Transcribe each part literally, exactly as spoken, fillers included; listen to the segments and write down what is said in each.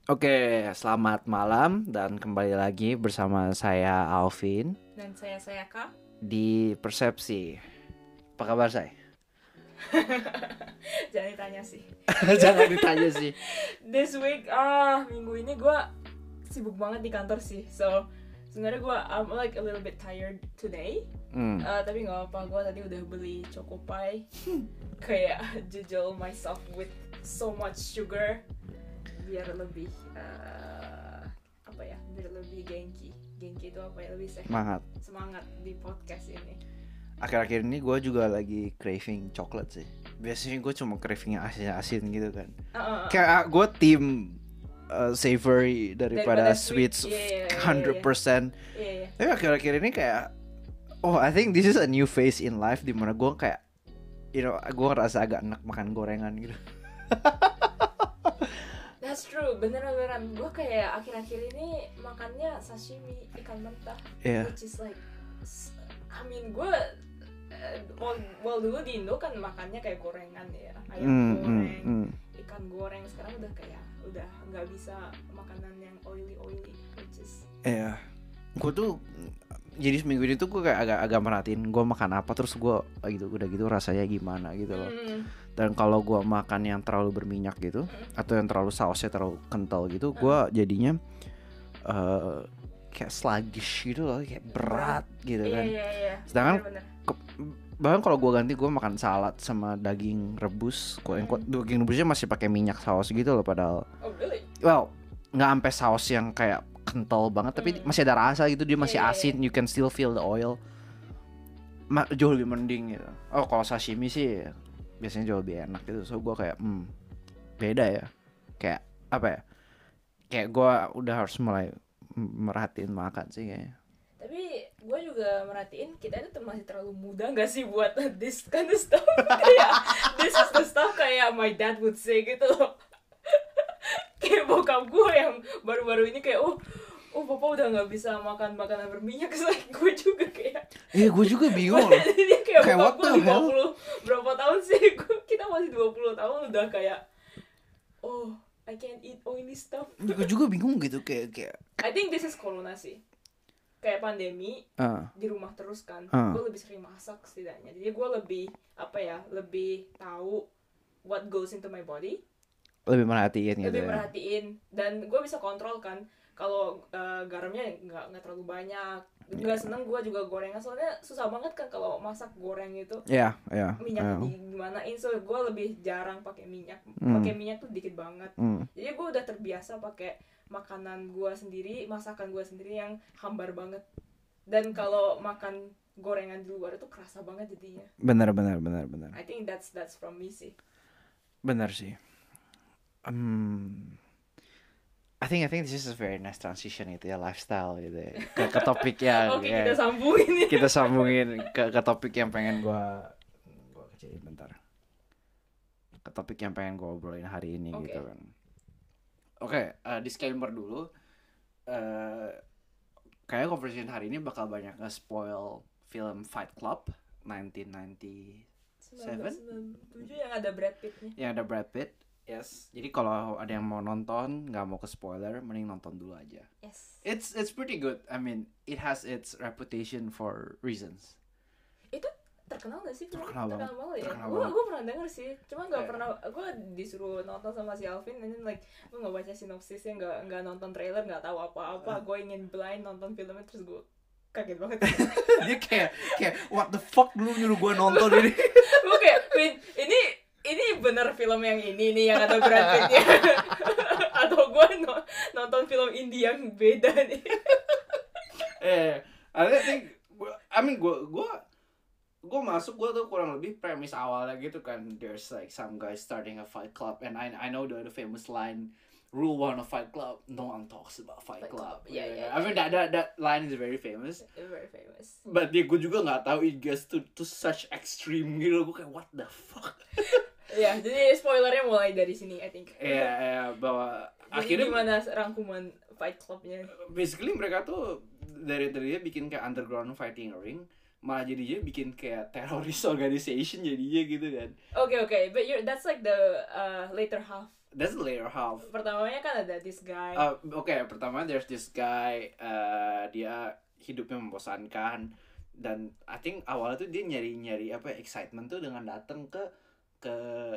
Oke, selamat malam dan kembali lagi bersama saya Alvin Dan saya saya Kak. di Persepsi. Apa kabar saya? Jangan ditanya sih. Jangan ditanya sih. This week, ah minggu ini gue sibuk banget di kantor sih. So sebenarnya gue I'm like a little bit tired today. Hmm. Uh, tapi nggak apa, gue tadi udah beli choco pie. Kayak jujur myself with so much sugar biar lebih uh, apa ya? Biar lebih genki. Genki itu apa ya? Lebih sehat. Semangat. Semangat di podcast ini. Akhir-akhir ini gue juga lagi craving coklat sih. Biasanya gue cuma craving yang asin-asin gitu kan. Uh, uh, uh. Kayak gue tim uh, savory daripada, Daripada sweets sweet. Yeah, yeah, yeah, one hundred percent. Iya, iya. Tapi akhir-akhir ini kayak, oh I think this is a new phase in life dimana gue kayak, you know, gue ngerasa agak enak makan gorengan gitu. That's true, beneran-beneran. Gue kayak akhir-akhir ini makannya sashimi ikan mentah, Yeah. which is like, I mean gue, uh, well, well dulu di Indo kan makannya kayak gorengan ya, ayam Mm, goreng, mm, mm. ikan goreng. Sekarang udah kayak udah nggak bisa makanan yang oily oily, which is. Iya, gue tuh jadi seminggu ini tuh gue kayak agak agak merhatiin gue makan apa, terus gue gitu udah gitu rasanya gimana gitu loh. Mm. Dan kalau gue makan yang terlalu berminyak gitu Mm. atau yang terlalu sausnya terlalu kental gitu, gue jadinya uh, kayak sluggish gitu loh, kayak berat gitu Iya kan. iya iya. Sedangkan Bener-bener. ke- bahkan kalau gue ganti gue makan salad sama daging rebus, gue yang Mm. daging rebusnya masih pakai minyak saus gitu loh, padahal Oh really? well nggak sampai saus yang kayak kental banget, tapi Hmm. masih ada rasa gitu, dia masih Iya, iya, asin, you can still feel the oil. Ma- jauh lebih mending gitu. Oh kalau sashimi sih biasanya jauh lebih enak gitu, so gue kayak hmm beda ya, kayak apa ya, kayak gue udah harus mulai m- merhatiin makan sih kayaknya. Tapi gue juga merhatiin kita itu tuh masih terlalu muda gak sih buat this kind of stuff. Kayak this is the stuff kayak my dad would say gitu loh. Kayak bokap gue yang baru-baru ini kayak oh oh papa udah nggak bisa makan makanan berminyak. Like gue juga kayak Eh gue juga bingung loh. dia kayak Kayak what bokap gue the lima hell? puluh berapa tahun sih. Gua- kita masih dua puluh tahun udah kayak oh I can't eat oily stuff. Gue juga bingung gitu, kayak kayak I think this is corona sih. Kayak pandemi ah di rumah terus kan, Uh. gue lebih sering masak setidaknya. Jadi gue lebih apa ya, lebih tahu what goes into my body, lebih merhatiin gitu lebih ya. perhatiin, dan gue bisa kontrol kan. Kalau uh, garamnya nggak nggak terlalu banyak. Nggak seneng gue juga gorengan, soalnya susah banget kan kalau masak goreng itu Iya, iya. minyak iya. di gimanain. So gue lebih jarang pakai minyak, Hmm. pakai minyak tuh dikit banget. Hmm. Jadi gue udah terbiasa pakai makanan gue sendiri, masakan gue sendiri yang hambar banget. Dan kalau makan gorengan di luar itu kerasa banget jadinya. Benar benar benar benar. I think that's that's from me sih. Benar sih. Um, I think I think this is a very nice transition itu ya, lifestyle gitu ya. Ke, ke topik yang Oke, ya, kita sambungin ya. kita sambungin ke, ke topik yang pengen gua gua kecilin bentar. Ke topik yang pengen gua obrolin hari ini Oke. gitu kan. Oke, eh, disclaimer dulu. Eh kayak conversation hari ini bakal banyak nge-spoil film Fight Club nineteen ninety Seven? sembilan belas sembilan puluh tujuh yang ada Brad Pitt-nya. yang ada Brad Pitt. Yes. Jadi kalau ada yang mau nonton, nggak mau ke spoiler, mending nonton dulu aja. Yes. It's it's pretty good. I mean, it has its reputation for reasons. Itu terkenal gak sih? Terkenal banget. banget ya. Terkenal Gue banget. gue pernah denger sih. Cuma nggak Eh. pernah. Gue disuruh nonton sama si Alvin, and then like gue nggak baca sinopsisnya, nggak nggak nonton trailer, nggak tahu apa-apa. Gue ingin blind nonton filmnya, terus gue kaget banget. Dia kayak kayak what the fuck, dulu nyuruh gue nonton ini. Gue kayak Vin, ini ini bener film yang ini nih yang ada Brad Pitt-nya. Atau gue no- nonton film indie yang beda nih. eh, I think, I mean, gue gue gue masuk, gue tuh kurang lebih premis awalnya gitu kan. There's like some guy starting a fight club, and I I know the, the famous line, rule one of Fight Club, no one talks about Fight Fight Club. Club, yeah, yeah, I mean that that that line is very famous. Very famous. But dia gue juga nggak tahu it gets to to such extreme gitu. Gue kayak what the fuck. Ya, jadi spoilernya mulai dari sini, I think. Iya, yeah, bahwa Jadi akhirnya gimana rangkuman Fight Club-nya? basically mereka tuh dari dari dia bikin kayak underground fighting ring, malah jadinya bikin kayak terrorist organization jadinya gitu kan. Okay, okay, but you're that's like the uh, later half that's the later half. Pertamanya kan ada this guy. Uh, Oke, okay, pertama there's this guy, uh, dia hidupnya membosankan, dan I think awalnya tuh dia nyari-nyari apa excitement tuh dengan datang ke ke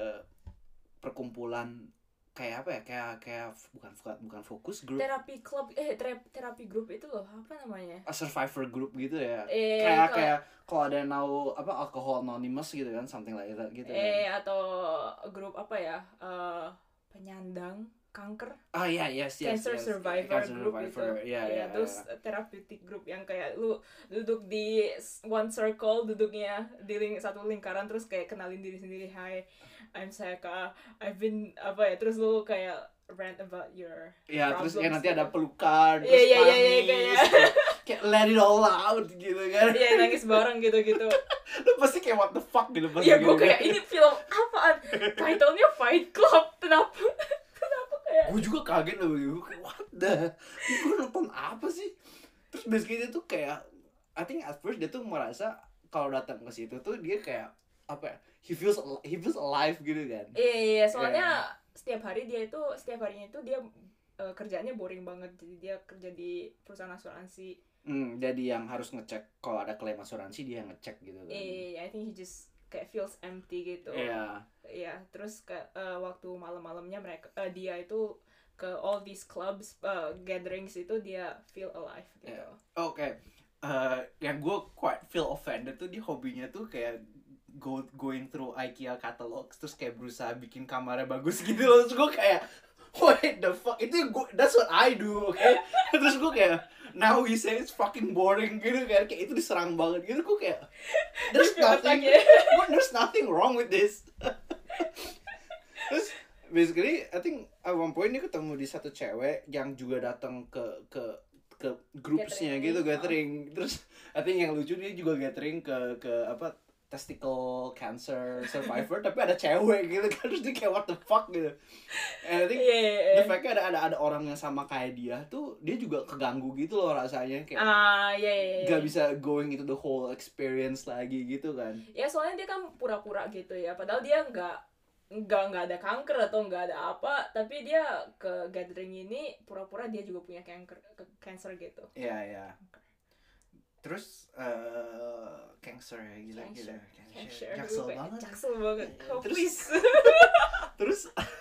perkumpulan kayak apa ya, kayak kayak bukan bukan fokus group, terapi club, eh terapi, terapi group itu loh, apa namanya? A survivor group gitu ya. Eh, kayak kalo, kayak kalau ada yang tahu apa Alcohol Anonymous gitu kan, something like that gitu. Eh kan. atau grup apa ya? Uh, penyandang kanker. Ah iya yeah, yes yes. Cancer yes. survivor Cancer group survivor. gitu. Iya ya, iya. terus yeah. Therapeutic group yang kayak lu duduk di one circle, duduknya di ling- satu lingkaran, terus kayak kenalin diri sendiri. Hi, I'm Seka. I've been apa ya? Terus lu kayak rant about your ya problems, terus kayak nanti gitu. ada pelukan, Iya, terus iya, iya, iya, nangis, kayak- kayak let it all out gitu kan. Iya, nangis bareng gitu-gitu. Lu pasti kayak what the fuck gitu pas Iya, gitu gue kayak kan. ini film apaan? Title-nya Fight Club. Kenapa? Kenapa kayak? Gue juga kaget loh, gue kayak what the, gue nonton apa sih? Terus basically dia tuh kayak, I think at first dia tuh merasa kalau datang ke situ tuh dia kayak apa ya? He feels he feels alive gitu kan. Iya, iya, soalnya Yeah. setiap hari dia itu setiap harinya itu dia uh, kerjanya boring banget. Jadi dia kerja di perusahaan asuransi. Hmm, jadi yang harus ngecek kalau ada klaim asuransi dia ngecek gitu kan. Iya, I think he just kayak feels empty gitu. Iya. Iya, terus ke uh, waktu malam-malamnya mereka uh, dia itu ke all these clubs, uh, gatherings itu dia feel alive gitu. Yeah. Oke. Okay. Uh, yang gue quite feel offended tuh dia hobinya tuh kayak go going through IKEA catalogs, terus kayak berusaha bikin kamarnya bagus gitu loh. Terus gue kayak wait the fuck, itu gue, that's what I do, oke? Okay? Terus gue kayak now he say it's fucking boring gitu kan, kayak itu diserang banget gitu. Gue kayak there's nothing, there's nothing wrong with this. Terus basically I think at one point dia ketemu di satu cewek yang juga datang ke ke ke groupsnya gitu, gathering. Terus I think yang lucu dia juga gathering ke ke apa testicle cancer survivor tapi ada cewek gitu kan, terus dia kayak what the fuck gitu. And I think yeah, yeah, yeah. the fact ada ada ada orang yang sama kayak dia tuh dia juga keganggu gitu loh rasanya, kayak ah yeah, yeah, yeah. gak bisa going into the whole experience lagi gitu kan. Ya soalnya dia kan pura-pura gitu ya, padahal dia nggak nggak nggak ada kanker atau nggak ada apa, tapi dia ke gathering ini pura-pura dia juga punya kanker cancer gitu. Iya yeah, iya. Yeah. Terus uh, cancer ya, gila gila cancer. Jaksel banget. Jaksel banget. Oh, terus, please. terus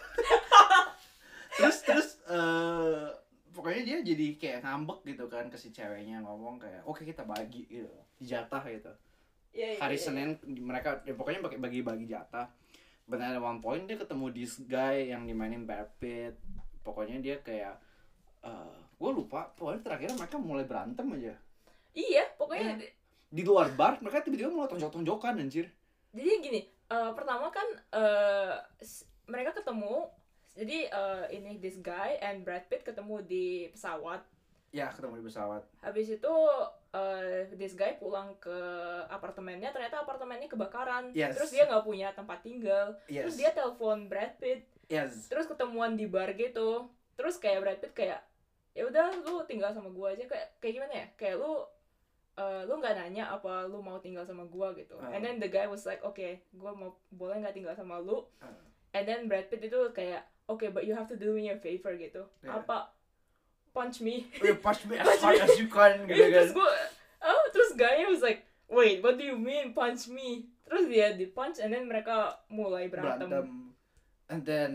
terus terus uh, pokoknya dia jadi kayak ngambek gitu kan ke si ceweknya, ngomong kayak oke okay, kita bagi gitu, jatah gitu. Yeah, yeah, hari yeah, Senin yeah. mereka ya, pokoknya pakai bagi-bagi jatah. Benar, one point dia ketemu this guy yang dimainin Brad Pitt. Pokoknya dia kayak uh, gue lupa, pokoknya terakhir mereka mulai berantem aja. Iya, pokoknya eh, di luar bar mereka tiba-tiba mulai tonjok-tonjokan anjir. Jadi gini, uh, pertama kan uh, mereka ketemu, jadi uh, ini this guy and Brad Pitt ketemu di pesawat. Ya, ketemu di pesawat. Habis itu uh, this guy pulang ke apartemennya, ternyata apartemennya kebakaran. Yes. Terus dia nggak punya tempat tinggal. Yes. Terus dia telepon Brad Pitt. Yes. Terus ketemuan di bar gitu. Terus kayak Brad Pitt kayak, ya udah lu tinggal sama gua aja, kayak kayak gimana ya? Kayak lu Uh, lu nggak nanya apa lu mau tinggal sama gua gitu. Uh. And then the guy was like, okay, gua mau boleh nggak tinggal sama lu. Uh. And then Brad Pitt itu kayak, okay, but you have to do me a favor gitu. Yeah. Apa? Punch me. Oh, punch me as hard as you can gitu kan. Terus gua, oh, terus guy-nya was like, wait, what do you mean punch me? Terus dia di punch and then mereka mulai berantem. berantem. And then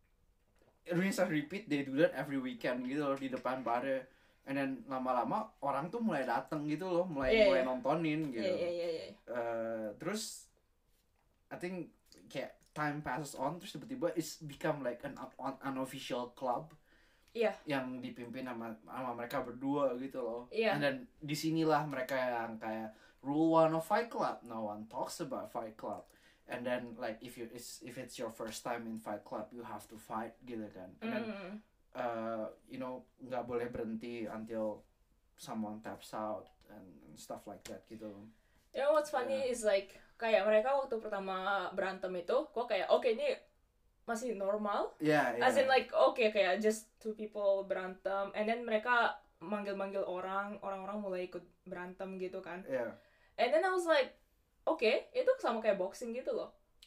rinse and repeat, they do that every weekend gitu loh di depan barnya. And then lama-lama orang tuh mulai dateng gitu loh, mulai yeah, mulai yeah. nontonin gitu. Yeah, yeah, yeah, yeah. Uh, terus I think kayak time passes on, terus tiba-tiba it's become like an unofficial club. Iya. Yeah. Yang dipimpin sama sama mereka berdua gitu loh. Iya. Yeah. And then disinilah mereka yang kayak rule one of Fight Club, no one talks about Fight Club. And then like if you it's, if it's your first time in Fight Club, you have to fight gitu kan. And then mm. Uh, you know, nggak boleh berhenti until someone taps out and, and stuff like that gitu. You know what's funny yeah. is like kayak mereka waktu pertama berantem itu, kok kayak oke okay, ini masih normal. Yeah, yeah. As in like oke okay, kayak just two people berantem, and then mereka manggil-manggil orang, orang-orang mulai ikut berantem gitu kan. Yeah. And then I was like, oke, okay, itu sama kayak boxing gitu loh.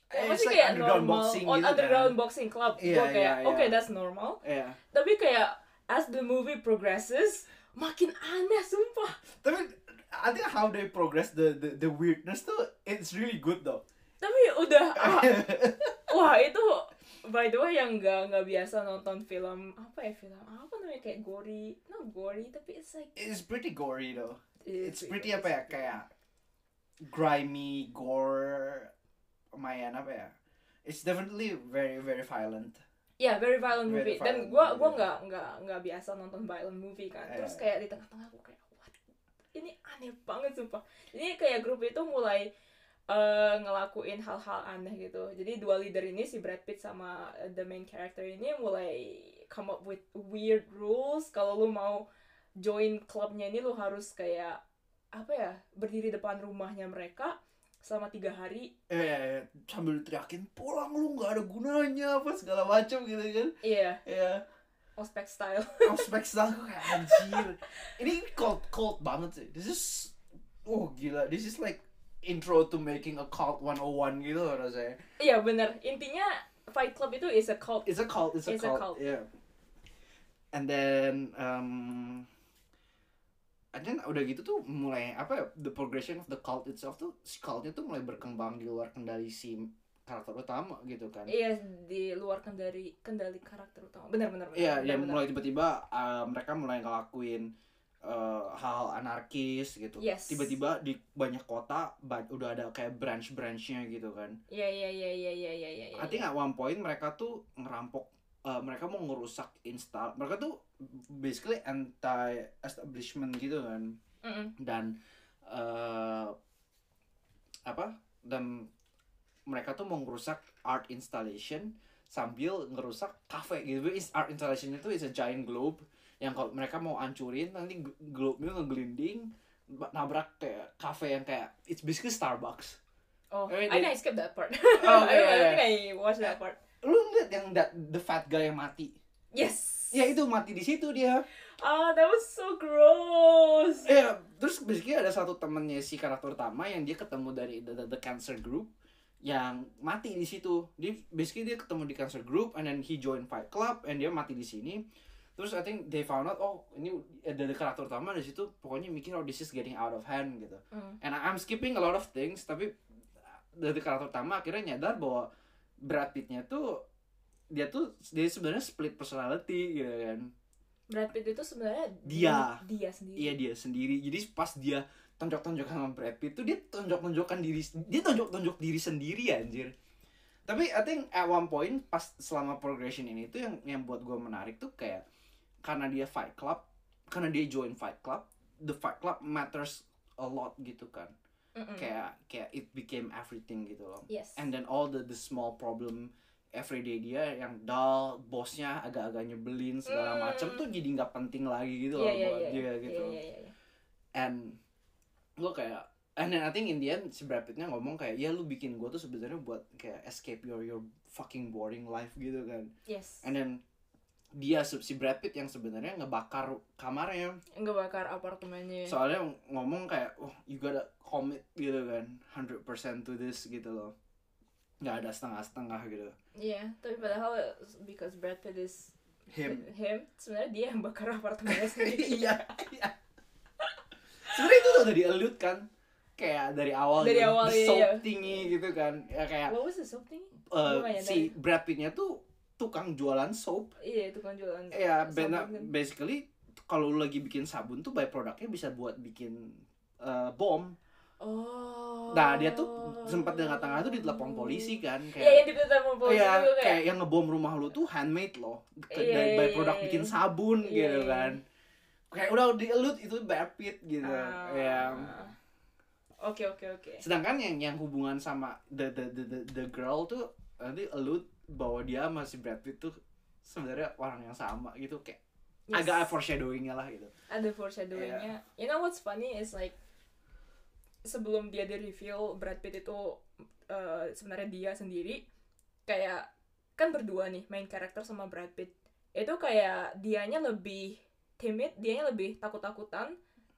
Ya, Eh, masih it's like kayak underground normal boxing on gitu kan. underground boxing club. Iya, Gue kayak iya, oke okay, iya. that's normal. Iya. Tapi kayak as the movie progresses makin aneh sumpah. Tapi I think how they progress the the, the weirdness tuh it's really good though. Tapi udah ah, wah itu by the way yang nggak nggak biasa nonton film apa ya film apa namanya kayak gory, not gory tapi it's like It's pretty gory though. It's It's pretty pretty- apa ya kayak grimy gore, lumayan apa ya? It's definitely very very violent. ya yeah, very violent Very movie. Dan violent gue movie, gue yeah. nggak nggak nggak biasa nonton violent movie kan. Terus Yeah. kayak di tengah-tengah gue kayak what? Ini aneh banget sumpah. Jadi kayak grup itu mulai eh, ngelakuin hal-hal aneh gitu. Jadi dua leader ini si Brad Pitt sama eh, the main character ini mulai come up with weird rules. Kalau lu mau join klubnya ini lu harus kayak apa ya berdiri depan rumahnya mereka selama tiga hari. Eh sambil teriakin pulang lu nggak ada gunanya apa segala macam gitu kan. Iya, Ya, ospek style. prospek style gue kayak anjir. Ini cult cult banget sih. This is oh gila. This is like intro to making a cult one oh one gitu loh rasanya. Iya bener. Intinya Fight Club itu is a cult. It's a cult, it's a It's a cult. cult. Yeah. And then um and then udah gitu tuh mulai apa ya, the progression of the cult itself tuh si cultnya tuh mulai berkembang di luar kendali si karakter utama gitu kan. Iya, di luar kendali kendali karakter utama. Benar-benar. Iya, ya mulai tiba-tiba uh, mereka mulai ngelakuin uh, hal anarkis gitu. Yes. Tiba-tiba di banyak kota ba- udah ada kayak branch-branchnya gitu kan. Iya, iya, iya, iya, iya, iya, iya. I think at one point mereka tuh ngerampok, uh, mereka mau ngerusak install. Mereka tuh basically anti establishment gitu kan. Mm-mm. Dan uh, apa? Dan mereka tuh mau ngerusak art installation sambil ngerusak cafe gitu. Is art installation itu is a giant globe yang kalau mereka mau hancurin nanti g- globe-nya ngegelinding ba- nabrak kayak cafe yang kayak it's basically Starbucks. Oh, I mean, I they- think I skipped that part. Oh, I, iya, I iya. think I watched that part. Lu lihat yang that, the fat guy yang mati. Yes. Ya itu mati di situ dia. Ah, that was so gross. Ya, terus basically ada satu temennya si karakter utama yang dia ketemu dari the, the, the cancer group yang mati di situ. Dia basically dia ketemu di cancer group and then he join Fight Club and dia mati di sini. Terus I think they found out oh ini dari karakter utama di situ pokoknya mikir oh this is getting out of hand gitu. Mm. And I'm skipping a lot of things tapi dari karakter utama akhirnya nyadar bahwa Brad Pitt-nya tuh dia tuh dia sebenarnya split personality gitu kan. Brad Pitt itu sebenarnya Dia. dia sendiri. Iya dia sendiri. Jadi pas dia tonjok-tonjokan sama Brad Pitt tuh dia tonjok-tonjokan diri dia tonjok-tonjok diri sendiri anjir. Tapi I think at one point pas selama progression ini tuh yang yang buat gue menarik tuh kayak karena dia Fight Club, karena dia join Fight Club, the Fight Club matters a lot gitu kan. Mm-mm. Kayak kayak it became everything gitu loh. Yes. And then all the the small problem everyday dia yang dull, bosnya agak-agak nyebelin segala Mm. macam tuh jadi nggak penting lagi gitu Iya, loh iya, buat iya. dia gitu. Iya, iya, iya. And gue kayak and then I think in the end si Brad Pitt-nya ngomong kayak ya lu bikin gue tuh sebenarnya buat kayak escape your your fucking boring life gitu kan. Yes. And then dia si Brad Pitt yang sebenarnya ngebakar kamarnya Ngebakar apartemennya. soalnya ngomong kayak oh you gotta commit gitu kan one hundred percent to this gitu loh, nggak ada setengah-setengah gitu. Iya, tapi padahal because Brad Pitt is Him. him sebenarnya dia yang bakar apartemennya sendiri. Iya, iya. Sebenarnya itu tuh udah di-allude kan, kayak dari awal Dari gitu, awal, the iya, soap iya. tinggi gitu kan, ya kayak What was the soap thing? uh, Gua nggak nyadar. si Brad Pitt-nya tuh tukang jualan soap. Iya, itu kan jualan. Ya, sabun bena- kan. basically kalau lu lagi bikin sabun tuh by produknya bisa buat bikin uh, bom. Oh. Nah dia tuh sempat di tengah-tengah tuh ditelepon polisi kan, Iya, kayak yang ditelepon polisi Iya, itu kayak kayak. yang ngebom rumah lu tuh handmade loh. Ke- Iya, dari iya, by iya, produk iya. bikin sabun Iya, gitu iya. kan. Kayak udah di-allude itu Brad Pitt gitu. Ah. Ya. Oke, oke, oke. Sedangkan yang yang hubungan sama the the the the, the girl tuh nanti allude bahwa dia masih Brad Pitt tuh sebenarnya orang yang sama gitu, kayak Yes. agak foreshadowing-nya lah gitu. Ada foreshadowing-nya. You know what's funny is like sebelum dia di reveal Brad Pitt itu uh, sebenarnya dia sendiri, kayak kan berdua nih main karakter sama Brad Pitt. Itu kayak dianya lebih timid, dianya lebih takut-takutan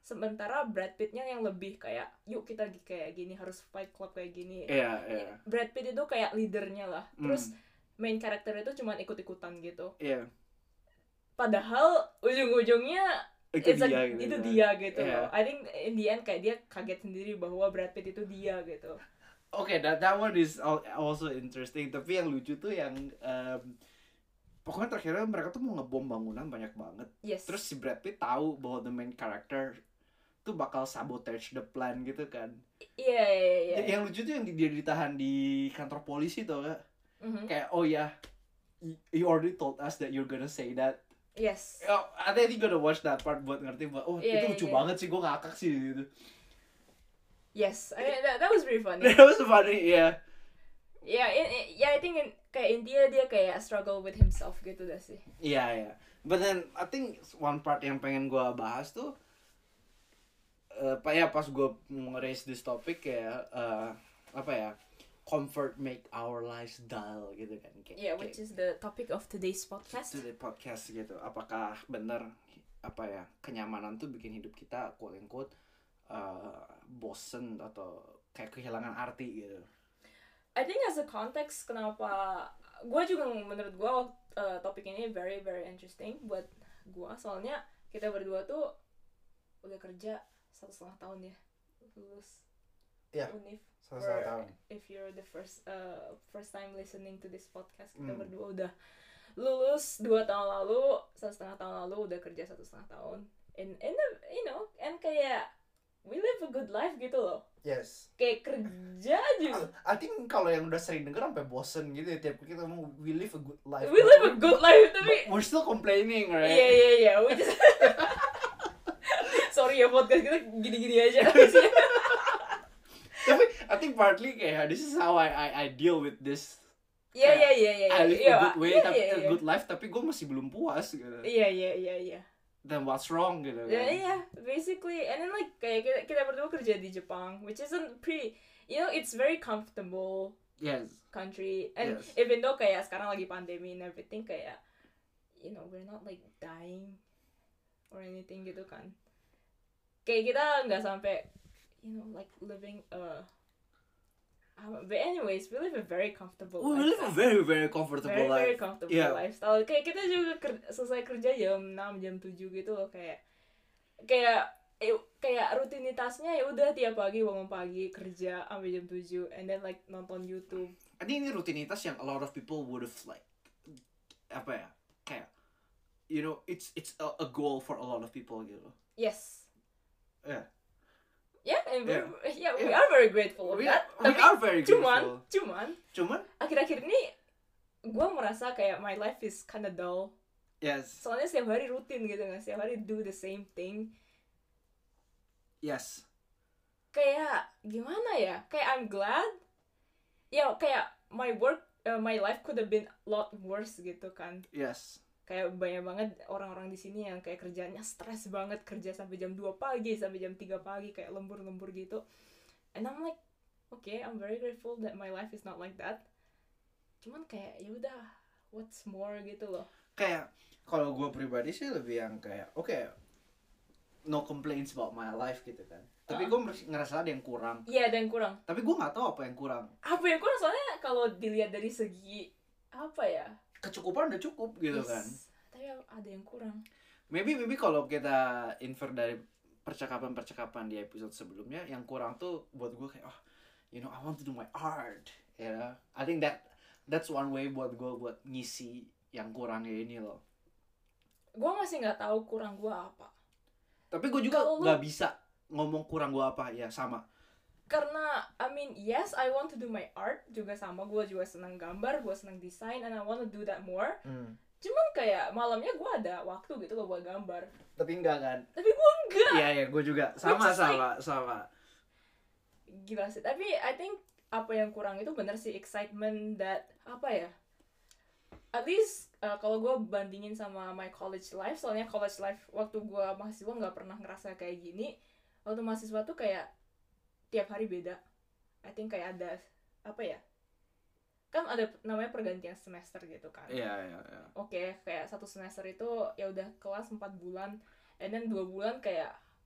sementara Brad Pittnya yang lebih kayak yuk kita kayak gini, harus fight club kayak gini. Iya, iya. Brad Pitt itu kayak leadernya lah, terus Mm. main karakter itu cuma ikut-ikutan gitu. Iya. Padahal ujung-ujungnya Itu it's dia like, gitu itu kan. dia gitu Iya. loh. I think in the end kayak dia kaget sendiri bahwa Brad Pitt itu dia gitu. Oke, that that one is al- also interesting. Tapi yang lucu tuh yang em, pokoknya terakhirnya mereka tuh mau ngebom bangunan banyak banget. Yes. Terus si Brad Pitt tahu bahwa the main character tuh bakal sabotage the plan gitu kan. Iya iya iya. Y- Yang lucu tuh yang di- dia ditahan di kantor polisi tuh gak? Mhm. Kayak oh ya, y- you already told us that you're gonna say that. Yes. Oh, I think you gotta watch that part buat ngerti bahwa oh Iya, itu iya, lucu iya. banget sih, gue ngakak sih gitu. Yes. I mean, that, that was really funny. That was funny, yeah. Ya, yeah, ya I think in, kayak intinya dia kayak struggle with himself gitu dah sih. Iya, iya. But then I think one part yang pengen gue bahas tuh eh pak ya pas gue mau raise this topic kayak eh, apa ya, comfort make our lives dull gitu kan. Kayak, Yeah, which is the topic of today's podcast. to the podcast gitu. Apakah bener apa ya, kenyamanan tuh bikin hidup kita quote unquote uh, bosen atau kayak kehilangan arti gitu. I think as a context kenapa gue juga menurut gue uh, topik ini very very interesting buat gue, soalnya kita berdua tuh udah kerja satu setengah tahun ya lulus Iya, univ. satu setengah Or tahun. if you're the first uh, first time listening to this podcast, kita Hmm. berdua udah lulus dua tahun lalu, satu setengah tahun lalu udah kerja satu setengah tahun. And and the, you know, and kayak we live a good life gitu loh. Yes. Kayak kerja juga. I think kalau yang udah sering denger sampai bosen gitu ya, tiap kita ngomong we live a good life. We live a good life tapi We're still complaining, right? iya iya iya, we just sorry ya podcast kita gini-gini aja. Tapi I think partly kayak this is how I I, I deal with this. Iya iya iya iya. I live iya, a good way, iya, tapi iya, a iya. good life, tapi gue masih belum puas gitu. Iya iya iya iya. Then what's wrong gitu kan? Ya iya, basically, and then like kayak kita, kita berdua kerja di Jepang, which isn't pretty, you know, it's very comfortable Yes. country, and Yes. even though kayak sekarang lagi pandemi and everything, kayak, you know, we're not like dying or anything gitu kan. Kayak kita nggak sampai, you know, like living a, um, but anyways, we live a very comfortable We live a lifestyle. very very comfortable very life. very comfortable Yeah. lifestyle. Kayak kita juga ker- selesai kerja jam enam jam tujuh gitu loh, kayak kayak eh, kayak rutinitasnya ya udah tiap pagi bangun pagi kerja sampai jam tujuh and then like nonton YouTube. I think ini rutinitas yang a lot of people would have like apa ya, kayak you know it's it's a, a goal for a lot of people gitu. Yes. Yeah. Yeah, and Yeah. we're, yeah, we Yeah. are very grateful of We that. are, we Tapi are very cuman, grateful. cuman Cuman akhir-akhir ini gue merasa kayak my life is kinda dull. yes. Soalnya setiap hari rutin gitu nggak, setiap hari do the same thing. Yes. Kayak gimana ya, kayak I'm glad ya, kayak my work uh, my life could have been a lot worse gitu kan. Yes. Kayak banyak banget orang-orang di sini yang kayak kerjanya stres banget, kerja sampai jam dua pagi sampai jam tiga pagi kayak lembur-lembur gitu, and I'm like okay, I'm very grateful that my life is not like that. Cuman kayak ya udah, what's more gitu loh. Kayak kalau gue pribadi sih lebih yang kayak oke, okay, no complaints about my life gitu kan. Tapi gue ngerasa ada yang kurang. Iya, ada yang kurang. Tapi gue nggak tahu apa yang kurang. Apa yang kurang, soalnya kalau dilihat dari segi apa ya, Kecukupan udah cukup gitu yes, kan. tapi ada yang kurang. Maybe maybe kalau kita infer dari percakapan-percakapan di episode sebelumnya, yang kurang tuh buat gue kayak oh, you know, I want to do my art. Ya, yeah. I think that that's one way buat gue buat ngisi yang kurangnya ini loh. Gue masih nggak tahu kurang gue apa. Tapi gue juga Kalau lu- nggak bisa ngomong kurang gue apa, ya sama. Karena I mean yes, I want to do my art juga sama, gue juga senang gambar, gue senang desain, and I want to do that more. Hmm. Cuman kayak malamnya gue ada waktu gitu loh buat gambar, Tapi enggak kan? tapi gue enggak. Iya ya, gue juga sama Which is sama sama. Gila sih, tapi I think apa yang kurang itu bener sih excitement that apa ya, at least uh, kalau gue bandingin sama my college life, soalnya college life waktu gue mahasiswa nggak pernah ngerasa kayak gini. Waktu mahasiswa tuh kayak tiap hari beda. I think kayak ada apa ya, kan ada namanya pergantian semester gitu kan. Iya iya iya. Oke, kayak satu semester itu ya udah kelas empat bulan, and then dua bulan kayak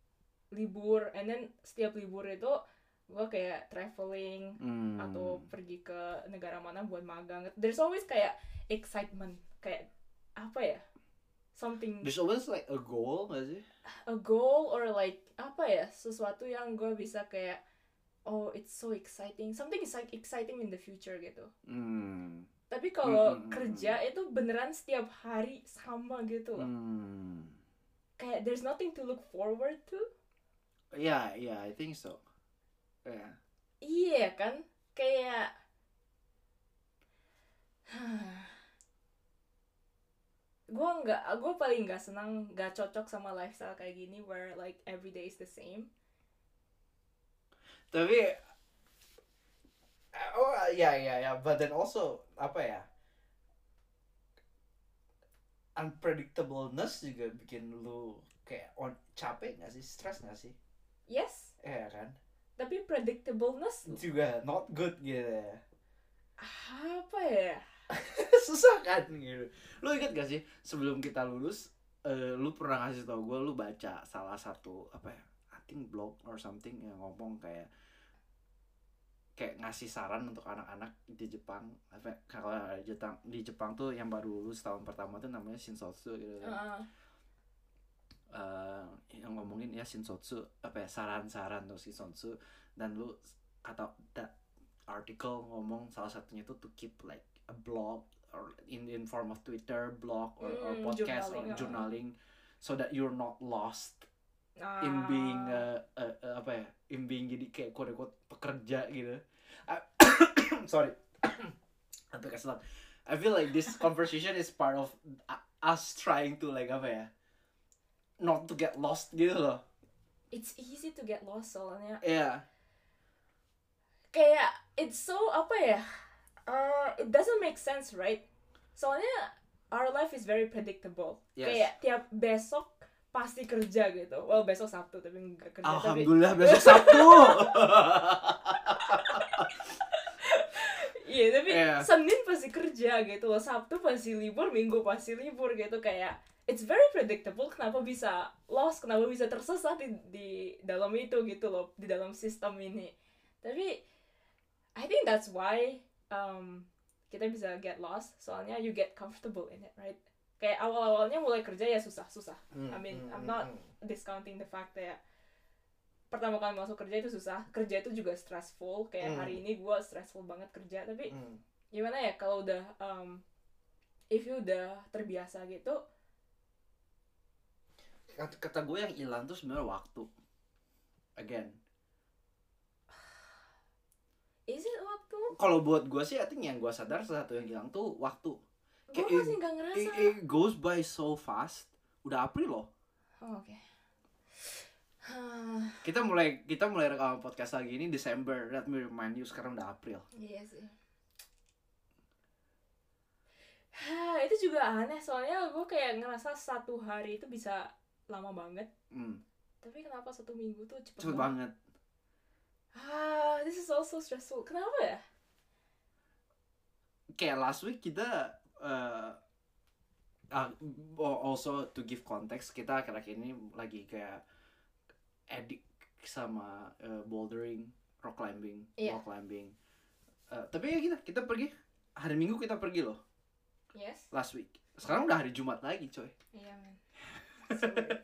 libur, and then setiap libur itu gue kayak traveling Hmm. atau pergi ke negara mana buat magang. There's always kayak excitement, kayak apa ya, something, There's always like a goal gak sih? a goal or like apa ya, sesuatu yang gue bisa kayak oh it's so exciting, something is like exciting in the future gitu. Hmm. Tapi kalau Mm, mm, mm, kerja itu beneran setiap hari sama gitu loh. Hmm. Kayak there's nothing to look forward to. Yeah, yeah, I think so. Yeah. Iya kan? Kayak gue nggak, gue paling nggak senang, nggak cocok sama lifestyle kayak gini where like every day is the same. Tapi oh ya ya ya, but then also apa ya? Unpredictableness juga bikin lu kayak on, capek nggak sih, stres nggak sih? Yes, Iya kan? tapi predictableness Juga not good gitu ya. apa ya? Susah kan gitu. Lu inget gak sih sebelum kita lulus, uh, lu pernah ngasih tau gue, lu baca salah satu apa ya, I think blog or something yang ngomong kayak kayak ngasih saran untuk anak-anak di Jepang. Apa kalau di Jepang, di Jepang tuh yang baru lulus tahun pertama tuh namanya shinsotsu gitu kan. Uh, Uh, yang ngomongin ya shinsotsu, apa ya, saran-saran tuh shinsotsu, dan lu kata that article ngomong salah satunya itu to keep like a blog or in in form of Twitter blog or, or Hmm, podcast journaling, or uh. journaling, so that you're not lost ah, in being uh, uh, uh, apa ya, in being jadi kayak quote unquote pekerja gitu. I, sorry, sampai keselat. I feel like this conversation is part of us trying to like apa ya, not to get lost gitu loh. it's easy to get lost soalnya. Yeah. Kayak it's so apa ya? Uh, it doesn't make sense, right? Soalnya our life is very predictable. Yes. Kayak tiap besok pasti kerja gitu. Well, besok Sabtu tapi nggak kerja. Alhamdulillah tapi... besok Sabtu. Iya, tapi Yeah. Senin pasti kerja gitu loh. Sabtu pasti libur, Minggu pasti libur gitu. Kayak it's very predictable. Kenapa bisa lost? Kenapa bisa tersesat di, di dalam itu gitu loh, di dalam sistem ini. Tapi I think that's why um, kita bisa get lost. Soalnya you get comfortable in it, right? Kayak awal-awalnya mulai kerja ya susah-susah. Hmm, I mean, hmm, I'm hmm, not hmm. discounting the fact that pertama kali masuk kerja itu susah. Kerja itu juga stressful. Kayak Hmm. hari ini gue stressful banget kerja. Tapi Hmm. gimana ya kalau udah um, if you udah terbiasa gitu. Kata, kata gue yang hilang tuh sebenarnya waktu. Again. Is it waktu? Kalau buat gue sih, I think yang gue sadar satu yang hilang tuh waktu. Gue Kayak masih nggak ngerasa. It, it goes by so fast. Udah April loh. Oh, oke. Okay. Kita mulai kita mulai rekam podcast lagi ini Desember. Let me remind you, sekarang udah April. Iya sih. Hah, itu juga aneh soalnya gue kayak ngerasa satu hari itu bisa lama banget. Hmm. Tapi kenapa satu minggu tuh cepet, Cepet banget. Ah, this is also stressful. Kenapa ya? Kayak last week kita uh, uh, also to give context, kita akhir-akhir ini lagi kayak addict sama uh, bouldering, rock climbing, Iya. wall climbing. Uh, tapi ya kita kita pergi hari Minggu, kita pergi loh Yes. last week. Sekarang udah hari Jumat lagi, coy. Iya, man. So weird.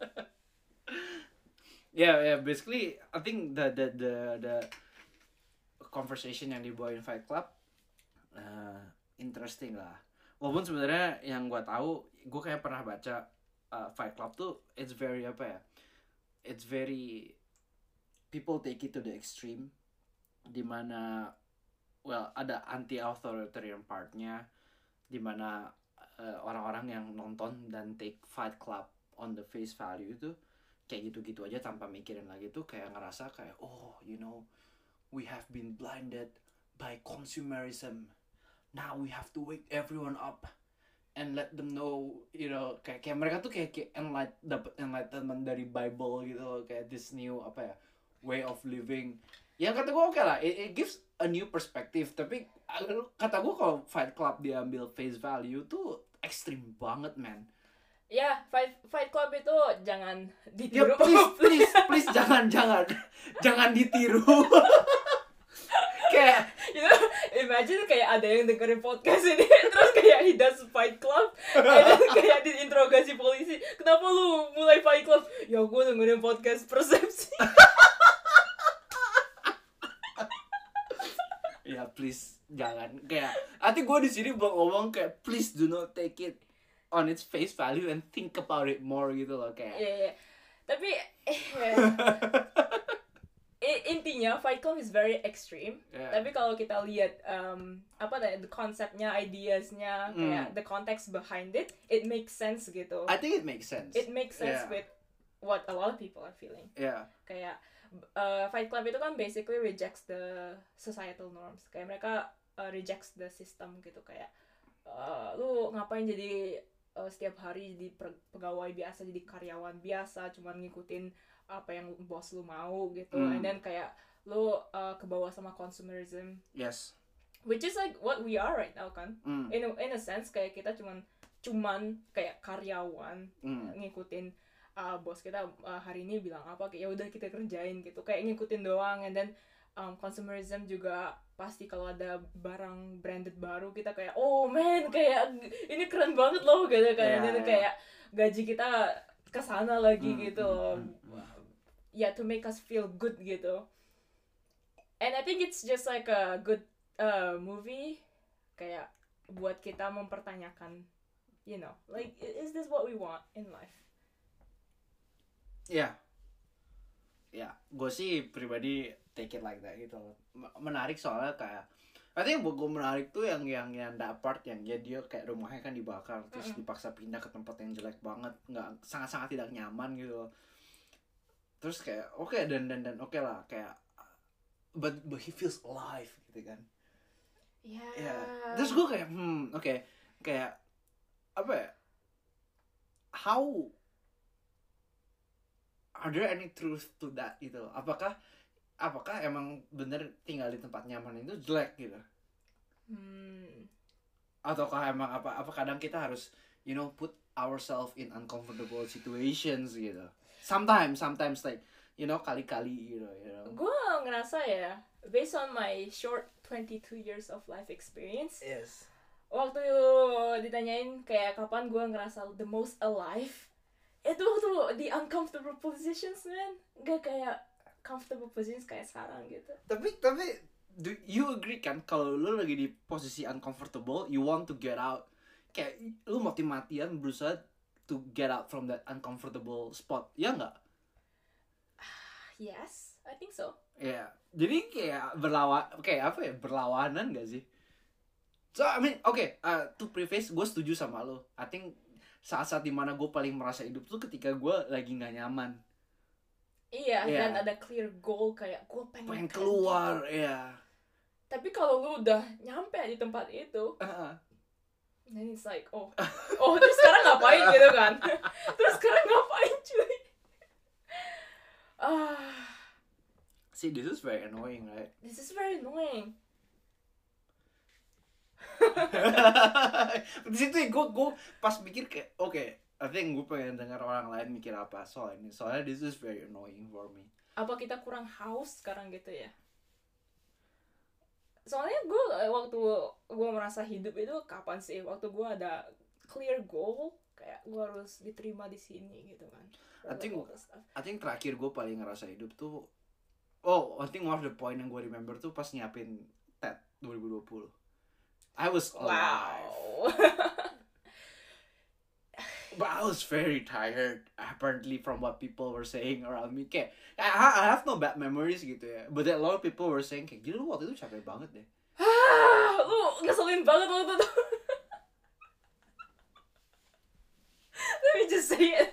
Yeah, yeah. Basically, I think the the the the conversation yang dibawain Fight Club uh, interesting lah. Walaupun sebenarnya yang gue tahu, gue kayak pernah baca uh, Fight Club tuh, it's very apa ya? It's very people take it to the extreme, dimana well ada anti-authoritarian partnya, dimana uh, orang-orang yang nonton dan take Fight Club on the face value itu kayak gitu-gitu aja tanpa mikirin lagi tuh kayak ngerasa kayak oh you know we have been blinded by consumerism, now we have to wake everyone up and let them know, you know, kayak, kayak mereka tuh kayak, kayak enlight, dapat enlightenment dari Bible gitu loh, kayak this new apa ya way of living. Ya kata gue oke okay lah, it, it gives a new perspective. Tapi kata gue kalau Fight Club diambil face value tuh ekstrim banget, man. Ya, Fight Fight Club itu buat jangan Ya ditiru. please, please, please jangan, jangan, jangan ditiru. Kayak, You know, imagine kayak ada yang dengerin podcast ini terus kayak he does Fight Club and then kayak diinterogasi polisi, kenapa lu mulai Fight Club? Ya gue dengerin podcast Persepsi. ya please jangan. Kayak, nanti gue di sini mau ngomong kayak please do not take it on its face value and think about it more gitu loh kayak. Iya, iya. Tapi eh, I- intinya Fight Club is very extreme. Yeah. Tapi kalau kita lihat um, apa tadi the konsepnya, ideasnya, kayak Mm. the context behind it, it makes sense gitu. I think it makes sense. It makes sense Yeah. with what a lot of people are feeling. Yeah. Kayak uh, Fight Club itu kan basically rejects the societal norms. Kayak mereka uh, rejects the system gitu, kayak uh, lu ngapain jadi uh, setiap hari jadi per- pegawai biasa, jadi karyawan biasa, cuman ngikutin apa yang bos lu mau gitu. Mm. And then kayak lu uh, kebawa sama consumerism, Yes. which is like what we are right now kan. Mm. In a, in a sense kayak kita cuman cuman kayak karyawan Mm. ngikutin uh, bos kita uh, hari ini bilang apa, kayak ya udah kita kerjain gitu, kayak ngikutin doang. And then um, consumerism juga pasti kalau ada barang branded baru kita kayak oh man kayak ini keren banget loh gitu kan. Yeah, And then yeah. kayak gaji kita kesana lagi Mm, gitu mm, loh. mm, Ya to make us feel good gitu. And I think it's just like a good uh, movie kayak buat kita mempertanyakan, you know, like is this what we want in life? Ya, ya, gue sih pribadi take it like that gitu. M- Menarik soalnya kayak, I think buat gue menarik tuh yang yang yang that part yang ya dia kayak rumahnya kan dibakar terus Mm-mm. dipaksa pindah ke tempat yang jelek banget, nggak sangat sangat tidak nyaman gitu loh. Terus kayak oke dan dan dan oke lah kayak, but but he feels alive gitu kan. Ya. Ya, terus gue kayak hmm oke kayak apa ya? How are there any truth to that gitu? Apakah apakah emang bener tinggal di tempat nyaman itu jelek gitu? Hmm. Ataukah emang apa apa kadang kita harus you know put ourselves in uncomfortable situations gitu? Sometimes sometimes like you know kali-kali gitu you know. Gue ngerasa ya, based on my short twenty-two years of life experience, Yes. waktu ditanyain kayak kapan gue ngerasa the most alive, itu waktu di uncomfortable positions man, gak kayak comfortable positions kayak sekarang gitu. Tapi tapi do you agree kan kalau lu lagi di posisi uncomfortable, you want to get out, kayak lu mati-matian berusaha to get out from that uncomfortable spot, ya nggak? Yes, I think so. Ya, jadi kayak berlawan, kayak apa ya, berlawanan gak sih? So I mean, oke, okay, uh, to preface, gue setuju sama lo. I think saat-saat dimana gue paling merasa hidup tuh ketika gue lagi nggak nyaman. Iya, Yeah. dan ada clear goal kayak gue pengen, Pengen kerja. keluar, ya. Tapi kalau lu udah nyampe di tempat itu, Uh, then it's like, oh, oh terus sekarang ngapain gitu kan? Terus sekarang ngapain cuy? Ah, see, this is very annoying, right? this is very annoying. Di situ gue gue pas mikir kayak oke, okay, I think gue pengen dengar orang lain mikir apa soal ini. Soalnya this is very annoying for me. Apa kita kurang haus sekarang gitu ya? Soalnya gue waktu gue merasa hidup itu kapan sih? Waktu gue ada clear goal, kayak gue harus diterima di sini gitu kan. I think All that stuff. I think terakhir gue paling ngerasa hidup tuh, oh, I think one of the point yang gue remember tuh pas nyiapin T E D dua ribu dua puluh. I was alive, Wow. but I was very tired. Apparently from what people were saying around me, kayak I, I have no bad memories gitu ya. But a lot of people were saying kayak gila lu waktu itu capek banget deh. Ah, lu ngeselin banget waktu itu. Let me just say it.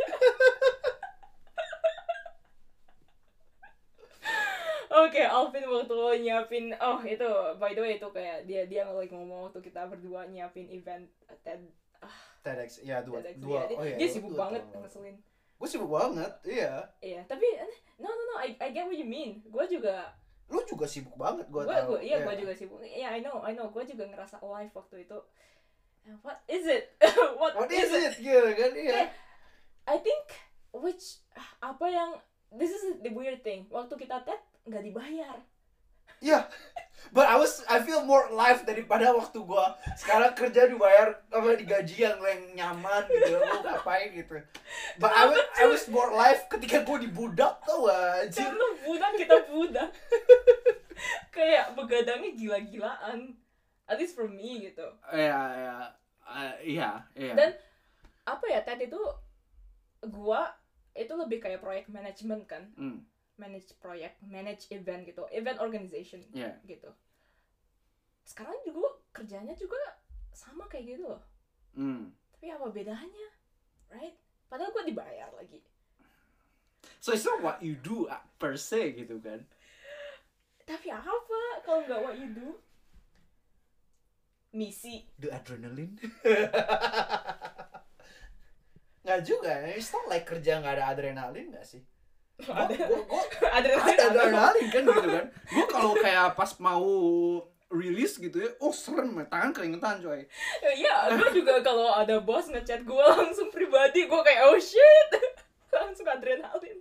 Oke, Alvin waktu nyiapin, oh itu by the way itu kayak dia dia lagi ngomong waktu kita berdua nyiapin event TED TEDx, ya dua, TEDx dua. dia, Oh ya, dia dua- sibuk dua banget tahun. ngeselin. Gue sibuk banget, iya. Iya, tapi eh, no no no, I I get what you mean. Gue juga Lu juga sibuk banget, gue gue tahu. gue iya Iya. gue juga sibuk. Iya, I know I know. Gue juga ngerasa alive waktu itu. Uh, What is it? What, What is it? Gitu kan, iya. Kayak, I think which apa yang this is the weird thing, waktu kita tet nggak dibayar. Iya, yeah. But I was I feel more alive daripada waktu gue sekarang kerja dibayar apa digaji yang yang nyaman gitu, gue ngapain gitu. But I was, I was more alive ketika gue dibudak tau gak anjir. Karena budak kita budak. Kayak begadangnya gila-gilaan. At least for me gitu. Iya, iya. Iya, iya. Dan apa ya, Ted itu gua itu lebih kayak proyek management kan. Mm. Manage proyek, manage event gitu, event organization yeah. gitu. Sekarang juga kerjanya juga sama kayak gitu loh. Mm. Tapi apa bedanya, right? Padahal gue dibayar lagi. So it's not what you do per se gitu kan? Tapi apa kalau nggak what you do? Misi. The adrenaline? Nggak juga, it's not like kerja nggak ada adrenalin nggak sih? Gua, gua, gua, adrenalin, ada adrenalin kan gitu kan. Gue kalau kayak pas mau rilis gitu ya, oh serem, tangan keringetan coy. Iya, gue juga kalau ada bos ngechat gue langsung pribadi, gue kayak oh shit, langsung adrenalin.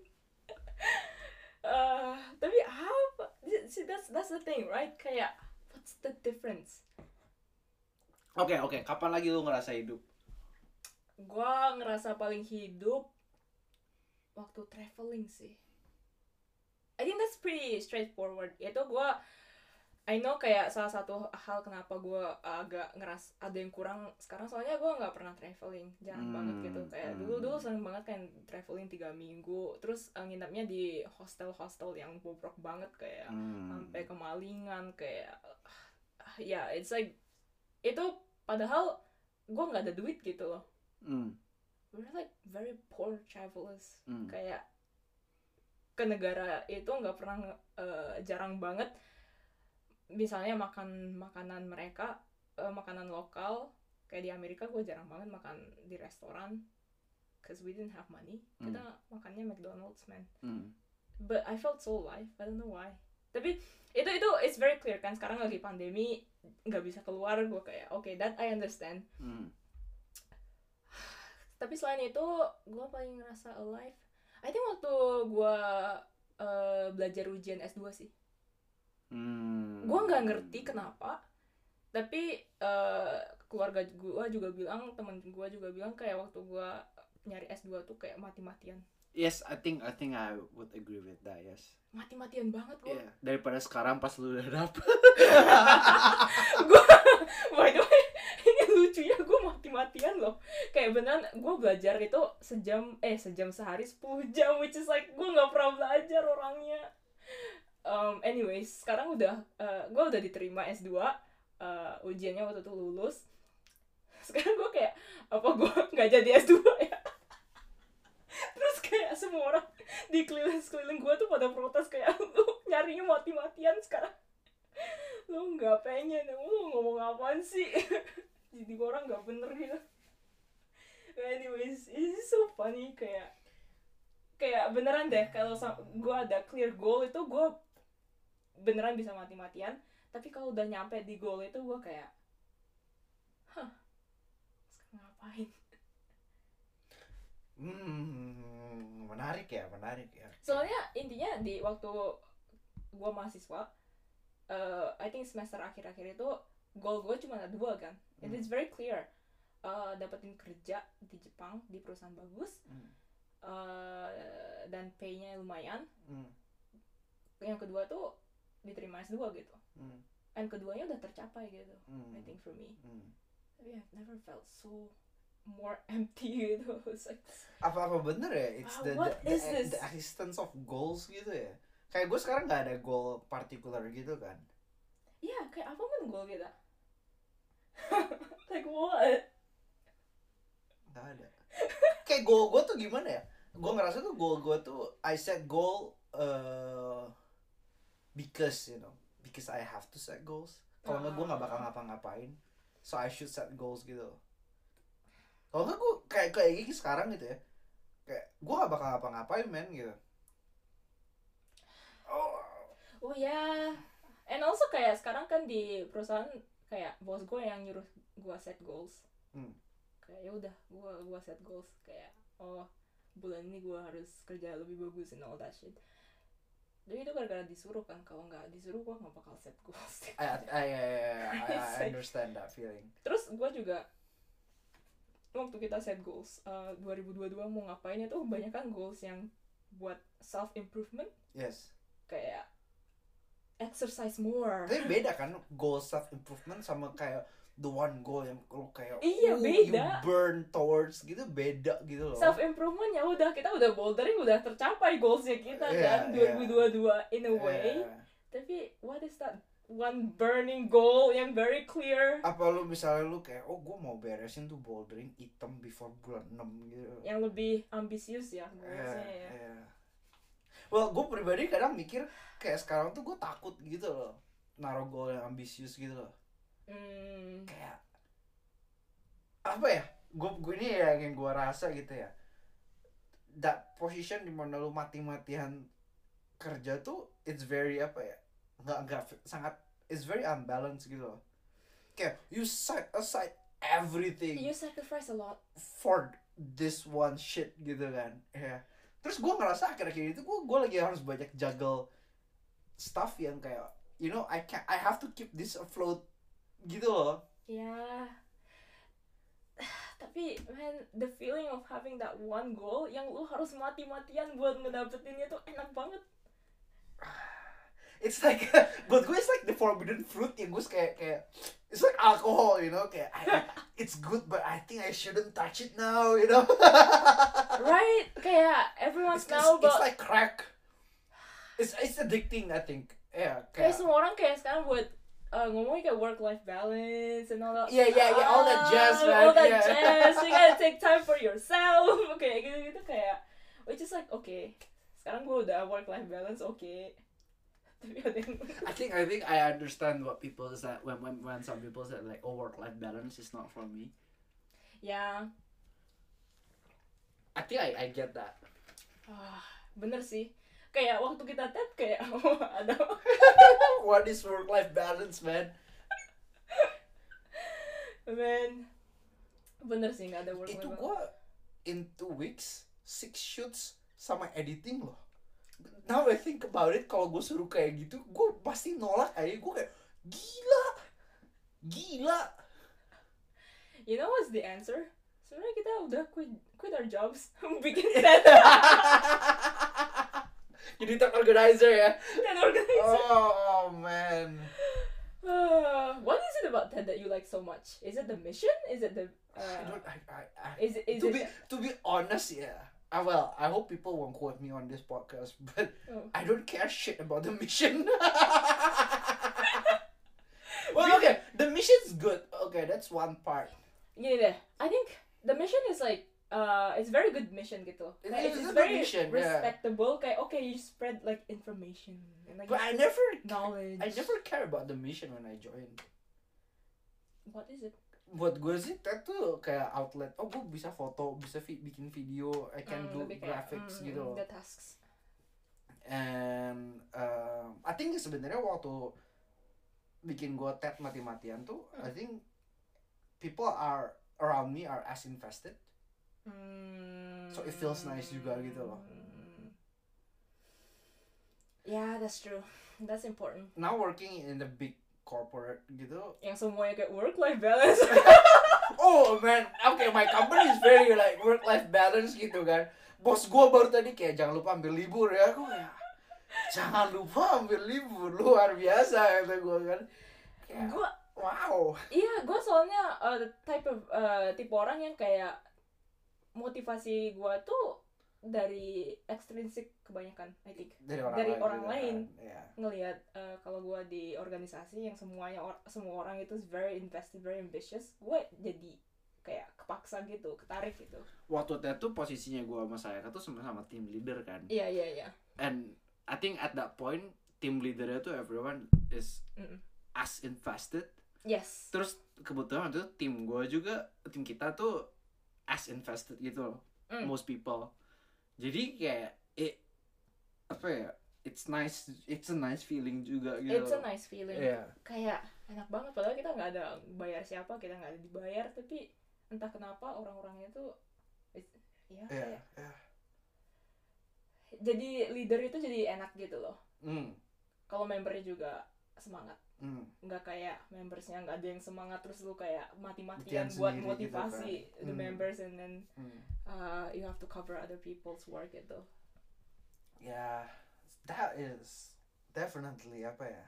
Uh, tapi apa? See, that's that's the thing, right? Kayak what's the difference? Oke okay, oke, okay. Kapan lagi lu ngerasa hidup? Gue ngerasa paling hidup waktu traveling sih. I think that's pretty straightforward. Itu gue, I know kayak salah satu hal kenapa gue agak ngeras ada yang kurang sekarang, soalnya gue nggak pernah traveling, jarang hmm, banget gitu. Kayak hmm. dulu dulu sering banget kan traveling tiga minggu, terus uh, nginapnya di hostel-hostel yang bobrok banget kayak hmm. sampai kemalingan kayak, uh, ya yeah, it's like itu padahal gue nggak ada duit gitu loh. Hmm. We're like very poor travelers. Mm. Kayak ke negara itu nggak pernah uh, jarang banget. Misalnya makan makanan mereka, uh, makanan lokal. Kayak di Amerika gue jarang banget makan di restoran, cause we didn't have money. Mm. Kita makannya McDonald's man. Mm. But I felt so alive. I don't know why. Tapi itu itu it's very clear kan. Sekarang lagi pandemi, nggak bisa keluar. Gue kayak oke, okay, that I understand. Mm. Tapi selain itu, gue paling ngerasa alive I think waktu gue uh, belajar ujian S dua sih. hmm. Gue gak ngerti kenapa, tapi uh, keluarga gue juga bilang, temen gue juga bilang kayak waktu gue nyari S dua tuh kayak mati-matian. Yes, I think I think I would agree with that, yes. Mati-matian banget gue. Yeah, daripada sekarang pas lu udah dapet. Gue, by the way, ini lucunya gue mati-matian loh. Kayak beneran gue belajar itu sejam, eh sejam sehari sepuluh jam, which is like gue nggak pernah belajar orangnya. Um, anyways, sekarang udah, uh, gue udah diterima S dua, uh, ujiannya waktu itu lulus. Sekarang gue kayak, apa gue nggak jadi S dua ya? Terus kayak semua orang di keliling-keliling gue tuh pada protes kayak, lu nyarinya mati-matian sekarang. Lu gak pengen, lu ngomong apaan sih? Jadi orang gak bener gitu. Anyways, it's so funny. Kayak kayak beneran deh, kalau gue ada clear goal itu gue beneran bisa mati-matian. Tapi kalau udah nyampe di goal itu gue kayak, hah, sekarang ngapain? Hmm, menarik ya, menarik ya. Soalnya intinya di waktu gue mahasiswa, uh, I think semester akhir-akhir itu goal gue cuma ada dua kan. Hmm. It is very clear, uh, dapetin kerja di Jepang di perusahaan bagus, hmm. uh, dan pay-nya lumayan. Hmm. Yang kedua tuh diterima S dua gitu. Hmm. And keduanya udah tercapai gitu. Hmm. I think for me. Hmm. Tapi I've never felt so more empty gitu. Like, apa-apa bener ya? It's uh, the, what the, is the, this? the existence of goals gitu ya. Kayak gue sekarang gak ada goal particular gitu kan. Iya, yeah, kayak apa pun goal kita. Like what? Gak ada. Kayak goal gue tuh gimana ya? Gue ngerasa tuh goal gue tuh I set goal uh, because you know, because I have to set goals. Kalau nggak gue nggak bakal ngapa-ngapain. So I should set goals gitu. Kalau nggak gue kayak kayak gini sekarang gitu ya, kayak gue gak bakal ngapa-ngapain men gitu. Oh, oh ya, yeah. And also kayak sekarang kan di perusahaan kayak bos gue yang nyuruh gue set goals. Hmm. Kayak ya udah gue gue set goals kayak oh bulan ini gue harus kerja lebih bagus and all that shit. Jadi itu gara-gara disuruh kan, kalau nggak disuruh gue nggak bakal set goals. I, I, I, I, I understand that feeling. Terus gue juga waktu kita set goals uh, dua ribu dua puluh dua mau ngapain itu kebanyakan goals yang buat self improvement. Yes. Kayak exercise more. Tapi beda kan goal self improvement sama kayak the one goal yang lu kayak iya, uh, beda. you burn towards gitu, beda gitu loh. Self improvement ya udah, kita udah bouldering, udah tercapai goalsnya kita yeah, kan dua ribu dua puluh dua yeah. in a way. Yeah. Tapi what is that one burning goal yang very clear? Apa lu misalnya lu kayak oh gue mau beresin tuh bouldering item before bulan enam gitu. Yang lebih ambisius ya goalsnya yeah, ya. Yeah. Well, gue pribadi kadang mikir kayak sekarang tuh gue takut gitu loh naruh goal yang ambisius gitu loh. Hmm. Kayak apa ya? Gue gue ini ya yang gue rasa gitu ya. That position dimana lu mati-matian kerja tuh it's very apa ya? Nggak nggak sangat it's very unbalanced gitu loh. Kayak you set aside everything. You sacrifice a lot for this one shit gitu kan. Ya. Yeah. Terus gue ngerasa akhir-akhir itu gue gue lagi harus banyak juggle stuff yang kayak you know I can I have to keep this afloat gitu loh. ya. Tapi man, the feeling of having that one goal yang lu harus mati-matian buat ngedapetinnya tuh enak banget. It's like buat gue it's like the forbidden fruit yang gue kayak kayak it's like alcohol, you know, kayak I, it's good but I think I shouldn't touch it now, you know. Right? Kayak everyone's It's, now it's, it's about like crack. It's it's addicting, I think. Yeah, kayak kayak semua orang kayak sekarang buat uh, ngomongin kayak work life balance and all that. Yeah, yeah, yeah, all that jazz, Ah, man. All that Yeah. jazz. You gotta take time for yourself. Kayak gitu-gitu kayak, which is like okay. Sekarang gue udah work life balance, okay. Tapi ada yang I think I think I understand what people is that when when when some people say like oh work life balance is not for me. ya, I think I I get that. ah, bener sih. Kayak waktu kita tet kayak oh, ada What is work life balance, man? man. Bener sih nggak ada work life Itu balance. gue in two weeks six shoots sama editing loh. Now I think about it, kalau gue suruh kayak gitu, gue pasti nolak aja. Gue kayak gila, gila. You know what's the answer? Sebenarnya kita udah quit quit our jobs, bikin tet Jadi top organizer ya. tet organizer. Oh man. Uh, what is it about TED that you like so much? Is it the mission? Is it the I uh, don't. I. I. I is it is to it be to be honest, yeah. I well, I hope people won't quote me on this podcast, but oh. I don't care shit about the mission. Well, okay, the mission's good. Okay, that's one part. Gini deh, I think the mission is like uh, it's very good mission gitu. It Kayak is it's a good very mission, yeah. respectable. Kayak okay, you spread like information and like But I never, knowledge. I never care about the mission when I joined. What is it? Buat gue sih, that tuh kayak outlet. Oh, gue bisa foto, bisa vi- bikin video, I can Mm, do lebih kayak, graphics mm, gitu loh. The tasks. And um, I think sebenarnya waktu bikin gue tet mati-matian tuh, I think people are around me are as invested. Hmm. So it feels nice juga gitu loh. Yeah, that's true. That's important. Now working in the big corporate gitu. Yang semuanya kayak work life balance. Oh man, okay, my company is very like work life balance gitu kan. Bos gue baru tadi kayak jangan lupa ambil libur ya. Gue kayak jangan lupa ambil libur, luar biasa kata gue kan. Kayak, Gue wow. Iya, gue soalnya uh, the type of uh, tipe orang yang kayak motivasi gue tuh dari extrinsic kebanyakan, I think. Dari orang Dari lain. orang gitu lain. kan. Yeah. Ngelihat uh, kalau gue di organisasi yang semuanya or- semua orang itu very invested, very ambitious, gue jadi kayak kepaksa gitu, ketarik gitu. Waktu itu posisinya gue sama saya tuh sama-sama team leader kan. Iya iya iya. And I think at that point team leadernya tuh everyone is Mm-mm. as invested. Yes. Terus kebetulan waktu itu tim gue juga, tim kita tuh as invested gitu loh. Mm. Most people. Jadi kayak it, apa ya? It's nice, it's a nice feeling juga gitu. It's a nice feeling. Yeah. Kayak enak banget, padahal kita nggak ada bayar siapa, kita nggak ada dibayar, tapi entah kenapa orang-orangnya tuh, it's- ya Yeah, kayak yeah. jadi leader itu jadi enak gitu loh. Hmm. Kalau membernya juga semangat. Hmm. Nggak kayak membersnya nggak ada yang semangat terus lu kayak Matian mati-matian buat sendiri motivasi gitu kan. the Hmm. members and then Hmm. uh, you have to cover other people's work gitu. Yeah, that is definitely apa ya?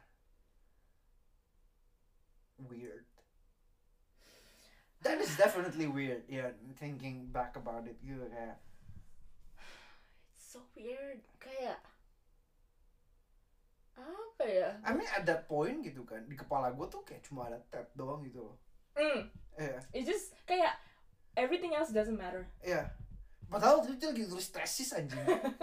Weird. That is definitely weird. Yeah, thinking back about it gitu kayak. So weird, kayak apa ya? I mean at that point gitu kan, di kepala gue tuh kayak cuma ada tab doang gitu loh. Mm. Iya. It's just kayak everything else doesn't matter. Iya. Padahal itu lagi tulis tesis anjing.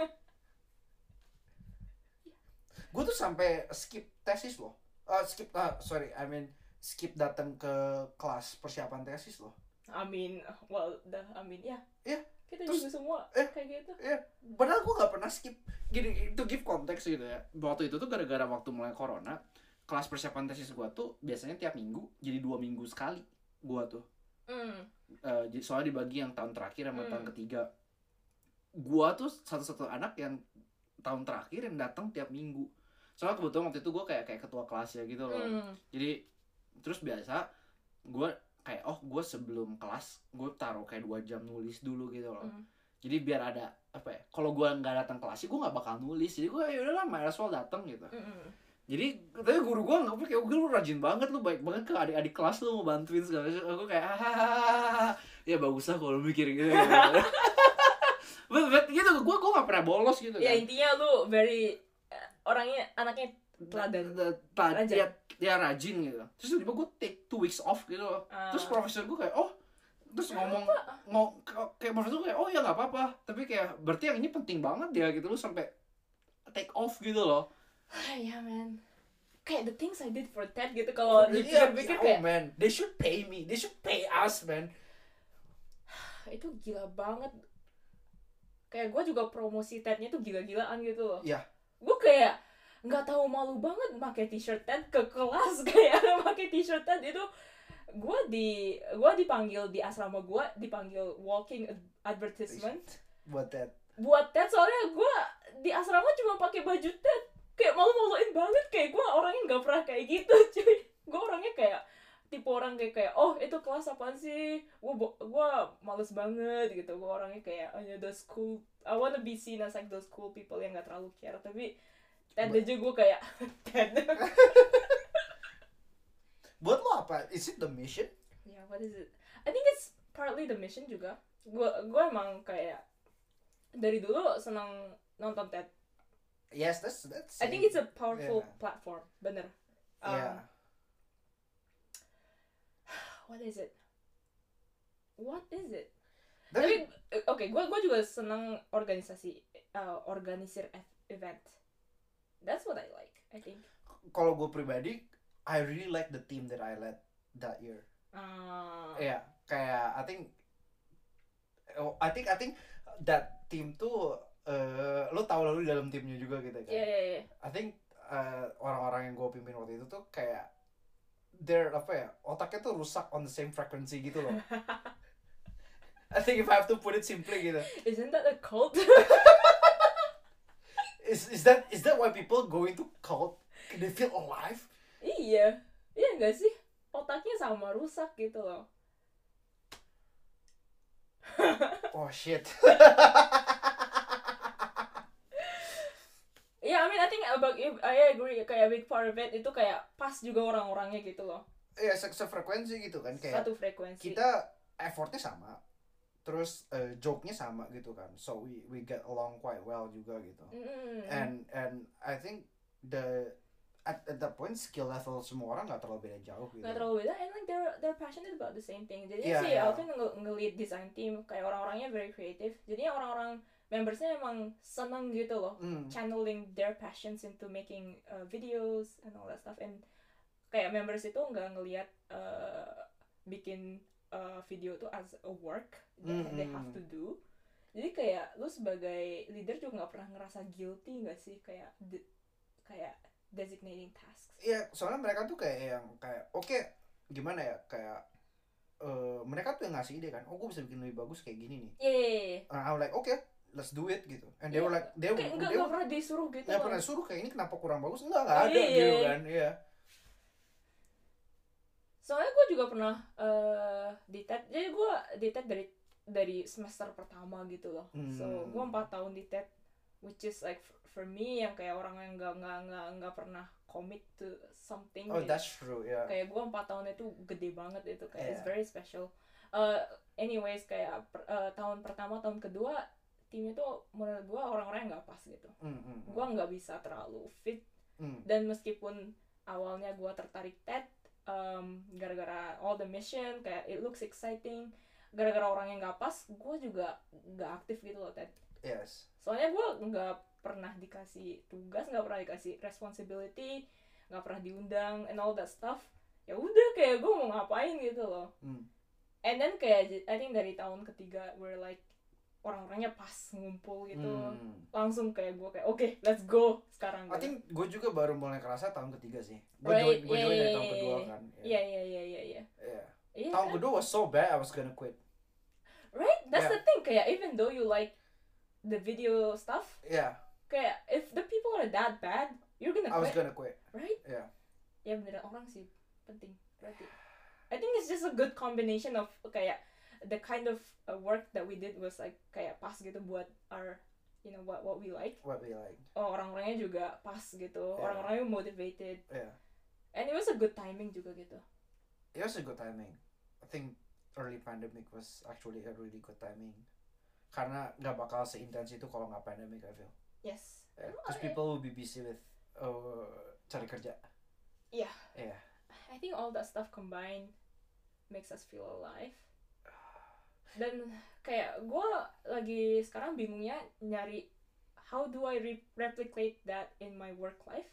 Gue tuh sampai skip tesis loh. Uh, skip, uh, sorry, I mean skip datang ke kelas persiapan tesis loh. I mean, well, the, I mean, ya. Iya. Kita Terus, juga semua eh, kayak gitu. Iya. Padahal gue gak pernah skip. Gini, to give konteks gitu ya. Waktu itu tuh gara-gara waktu mulai corona, kelas persiapan tesis gue tuh biasanya tiap minggu jadi dua minggu sekali. Gue tuh. Mm. Uh, soalnya dibagi yang tahun terakhir sama Mm. tahun ketiga. Gue tuh satu-satu anak yang tahun terakhir yang datang tiap minggu. Soalnya kebetulan waktu itu gue kayak kayak ketua kelas ya gitu loh. Mm. Jadi terus biasa gue kayak oh gue sebelum kelas gue taruh kayak dua jam nulis dulu gitu loh. Mm. Jadi biar ada apa ya? Kalau gue nggak datang kelas sih gue nggak bakal nulis. Jadi gue ya udahlah might as well datang gitu. Mm. Jadi katanya guru gue nggak kayak gue lu rajin banget lu baik banget ke adik-adik kelas lu mau bantuin segala macam. Aku kayak hahaha ya bagus lah kalau mikir gitu. but, but gitu gue gue nggak pernah bolos gitu Ya kan. intinya lu very uh, orangnya anaknya teladan. Rajin. Rajin. Ya, ya rajin gitu. Terus tiba-tiba gue take two weeks off gitu loh. Uh. Terus profesor gue kayak oh terus ngomong ngomong kayak profesor gue kayak oh ya nggak apa-apa. Tapi kayak berarti yang ini penting banget ya gitu lu sampai take off gitu loh. Ya man, kayak the things I did for Ted gitu kalau dipikir-pikir oh, kayak man, they should pay me, they should pay us man. itu gila banget. Kayak gue juga promosi Tednya tuh gila-gilaan gitu loh. Iya. Gue kayak nggak tahu malu banget pakai t-shirt Ted ke kelas kayak pakai t-shirt Ted itu. Gue di gue dipanggil di asrama gue dipanggil walking advertisement Buat that. buat Ted soalnya gue di asrama cuma pakai baju Ted kayak malu-maluin banget kayak gue orangnya nggak pernah kayak gitu cuy. Gue orangnya kayak tipe orang kayak kayak oh itu kelas apaan sih gue gue males banget gitu. Gue orangnya kayak oh ya those cool I wanna be seen as like those cool people yang nggak terlalu care. Tapi Ted But- aja gue kayak Ted. Buat lo apa? Is it the mission? Yeah, what is it? I think it's partly the mission juga. Gue gue emang kayak dari dulu senang nonton Ted. Yes, that's that's. I think it's a powerful Yeah. platform, bener. Um, Yeah. What is it? What is it? Tapi Tapi oke, gue gue juga senang organisasi, uh, organisir ev- event. That's what I like, I think. kalau gue pribadi, I really like the team that I led that year. Uh, Iya, kayak I think, oh, I think I think that team tuh, uh, lo tau lalu di dalam timnya juga gitu kan. yeah, yeah, yeah. I think uh, orang-orang yang gue pimpin waktu itu tuh kayak they're apa ya, otaknya tuh rusak on the same frequency gitu loh. I think if I have to put it simply gitu. Isn't that a cult? Is is that is that why people go into cult? They feel alive? Iya, iya nggak sih? Otaknya sama rusak gitu loh. Oh shit. Yeah, I mean I think about I agree kayak big part of it itu kayak pas juga orang-orangnya gitu loh. Ya se sefrekuensi gitu kan kayak Satu frekuensi. kita effortnya sama, terus uh, joke-nya sama gitu kan, so we we get along quite well juga gitu. Mm-mm. And and I think the at, at that point skill level semua orang nggak terlalu beda jauh gitu. Nggak terlalu beda, and like they're they're passionate about the same thing. Jadi Yeah, si yeah. Alvin nge- nge-lead design team, kayak orang-orangnya very creative. Jadinya orang-orang membersnya emang seneng gitu loh, Mm. channeling their passions into making uh, videos and all that stuff. And kayak members itu nggak ngelihat uh, bikin uh, video tuh as a work that Mm-hmm. they have to do. Jadi kayak lu sebagai leader juga nggak pernah ngerasa guilty nggak sih kayak de- kayak designating tasks. Iya, soalnya mereka tuh kayak yang kayak oke okay, gimana ya kayak uh, mereka tuh yang ngasih ide kan, oh gue bisa bikin lebih bagus kayak gini nih. Yeah. And I'm like okay, let's do it gitu. And they Iya. were like they Kayak were nggak they nggak were pernah disuruh gitu nggak loh. pernah suruh kayak ini kenapa kurang bagus, enggak nggak ada Iya. gitu kan. Iya. Soalnya gue juga pernah uh, di T E D, jadi gue di T E D dari dari semester pertama gitu loh. Hmm. So gue empat tahun di T E D, which is like for, for me yang kayak orang yang nggak nggak nggak nggak pernah commit to something. Oh gitu. that's true ya. Yeah. Kayak gue empat tahun itu gede banget itu, kayak Yeah. it's very special. Uh, anyways kayak per, uh, tahun pertama tahun kedua timnya tuh menurut gue orang-orang yang nggak pas gitu. Mm, mm, mm. Gue nggak bisa terlalu fit. Mm. Dan meskipun awalnya gue tertarik T E D um, gara-gara all the mission, kayak it looks exciting, gara-gara orang yang gak pas gue juga gak aktif gitu loh T E D. Yes. Soalnya gue gak pernah dikasih tugas, gak pernah dikasih responsibility, gak pernah diundang and all that stuff. Ya udah kayak gue mau ngapain gitu loh. Mm. And then kayak I think dari tahun ketiga we're like orang-orangnya pas ngumpul gitu. Mm. Langsung kayak gue kayak oke okay, let's go sekarang. I gitu. think gue juga baru mulai kerasa tahun ketiga sih. Gue Right, join, gue yeah, join dari yeah, tahun yeah, kedua yeah. kan. Iya iya iya iya iya. Yeah. Iya Tahun kan? kedua was so bad I was gonna quit. Right? That's Yeah. the thing. Kayak even though you like the video stuff, Yeah, kayak if the people are that bad, you're gonna I was quit, gonna quit. right? Yeah. Ya beneran orang sih penting. Berarti. I think it's just a good combination of kayak the kind of uh, work that we did was like kayak pas gitu buat our, you know, what what we like. What we like. Oh, orang-orangnya juga pas gitu. Yeah. Orang-orangnya motivated. Yeah. And it was a good timing juga gitu. It was a good timing. I think early pandemic was actually a really good timing. Karena nggak bakal seintens itu kalau nggak pandemic I feel. Yes. Because people will be busy with uh, cari kerja. Yeah. Yeah. I think all that stuff combined makes us feel alive. Dan kayak gue lagi sekarang bingungnya nyari how do I re- replicate that in my work life.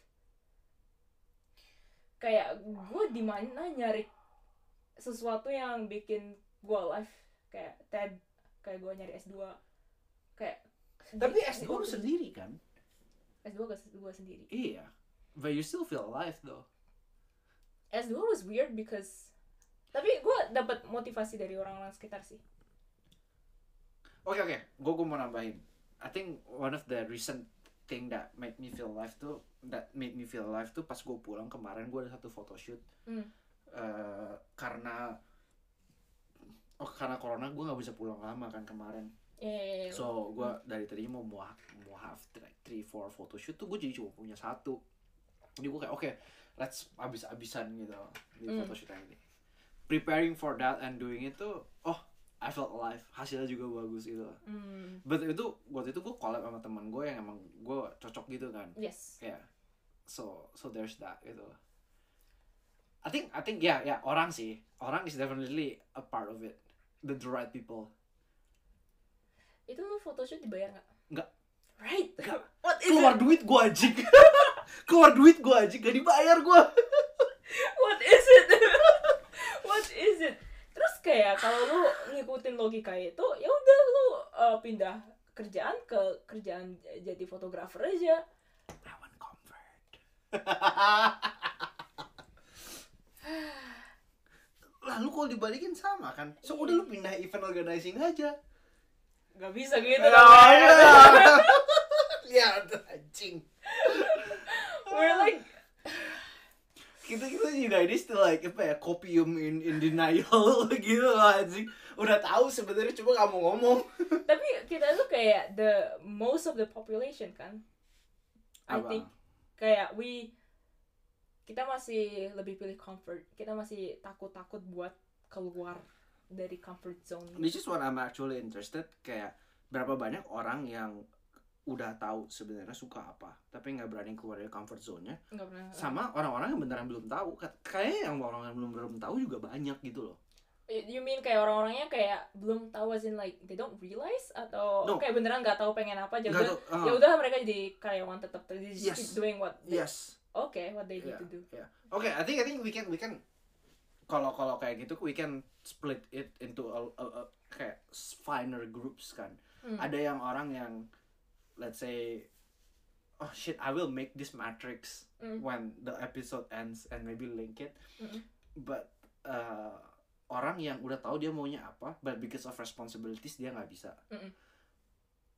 Kayak gue di mana nyari sesuatu yang bikin gue alive, kayak T E D, kayak gue nyari S dua, kayak Tapi di- S dua lu di- sendiri kan? S dua gue sendiri. Iya. But you still feel alive though. S dua was weird because tapi gue dapat motivasi dari orang-orang sekitar sih. Oke oke, gue gue mau nambahin. I think one of the recent thing that made me feel alive tuh, that made me feel alive tuh pas gue pulang kemarin gue ada satu photoshoot. Hmm. Uh, karena oh karena corona gue nggak bisa pulang lama kan kemarin. Yeah, yeah, yeah. So gue dari tadi mau mau mau have like three four photoshoot tuh gue jadi cuma punya satu. Jadi gue kayak oke, okay, let's abis-abisan gitu di Mm. photoshoot yang ini. Preparing for that and doing it tuh, oh I felt alive, hasilnya juga bagus gitu. Mm. But itu waktu itu gue collab sama teman gue yang emang gue cocok gitu kan. Yes. Ya, yeah. so so there's that gitu. I think I think ya yeah, ya yeah, orang sih, orang is definitely a part of it, the, the right people. Itu lu photoshoot dibayar nggak? Nggak. Right. Nggak. What is Keluar it? duit gue anjing. Keluar duit gue anjing, gak dibayar gue. What is it? What is it? Terus kayak kalau lu ngikutin logika itu, ya udah lu uh, pindah kerjaan ke kerjaan jadi fotografer aja. I want comfort. Lalu kalau dibalikin sama kan, so udah lu pindah event organizing aja. Gak bisa gitu Ya, kan. ya. Lihat anjing. We're like Kita kita juga ini still like apa ya, copium in in denial gitu loh anjing. Udah tahu sebenarnya cuma gak mau ngomong. tapi kita tuh kayak the most of the population kan. I Apa? think kayak we kita masih lebih pilih comfort. Kita masih takut-takut buat keluar dari comfort zone. This is what I'm actually interested, kayak berapa banyak orang yang udah tahu sebenarnya suka apa tapi nggak berani keluar dari comfort zone-nya, Nggak pernah. sama orang-orang yang beneran belum tahu. Kayaknya yang orang yang belum belum tahu juga banyak gitu loh. You mean kayak orang-orangnya kayak belum tahu, as in like they don't realize, atau No. kayak beneran nggak tahu pengen apa aja Nggak udah tahu, uh. ya udah mereka jadi karyawan tetap, they just Yes. keep doing what they, Yes. okay what they need Yeah, to do. yeah. Oke, I think I think we can we can kalau kalau kayak gitu we can split it into a, a, a kayak finer groups kan. Hmm. Ada yang orang yang let's say, oh shit, I will make this matrix Mm. when the episode ends and maybe link it. Mm-mm. But uh, orang yang udah tahu dia maunya apa, but because of responsibilities dia nggak bisa. Mm-mm.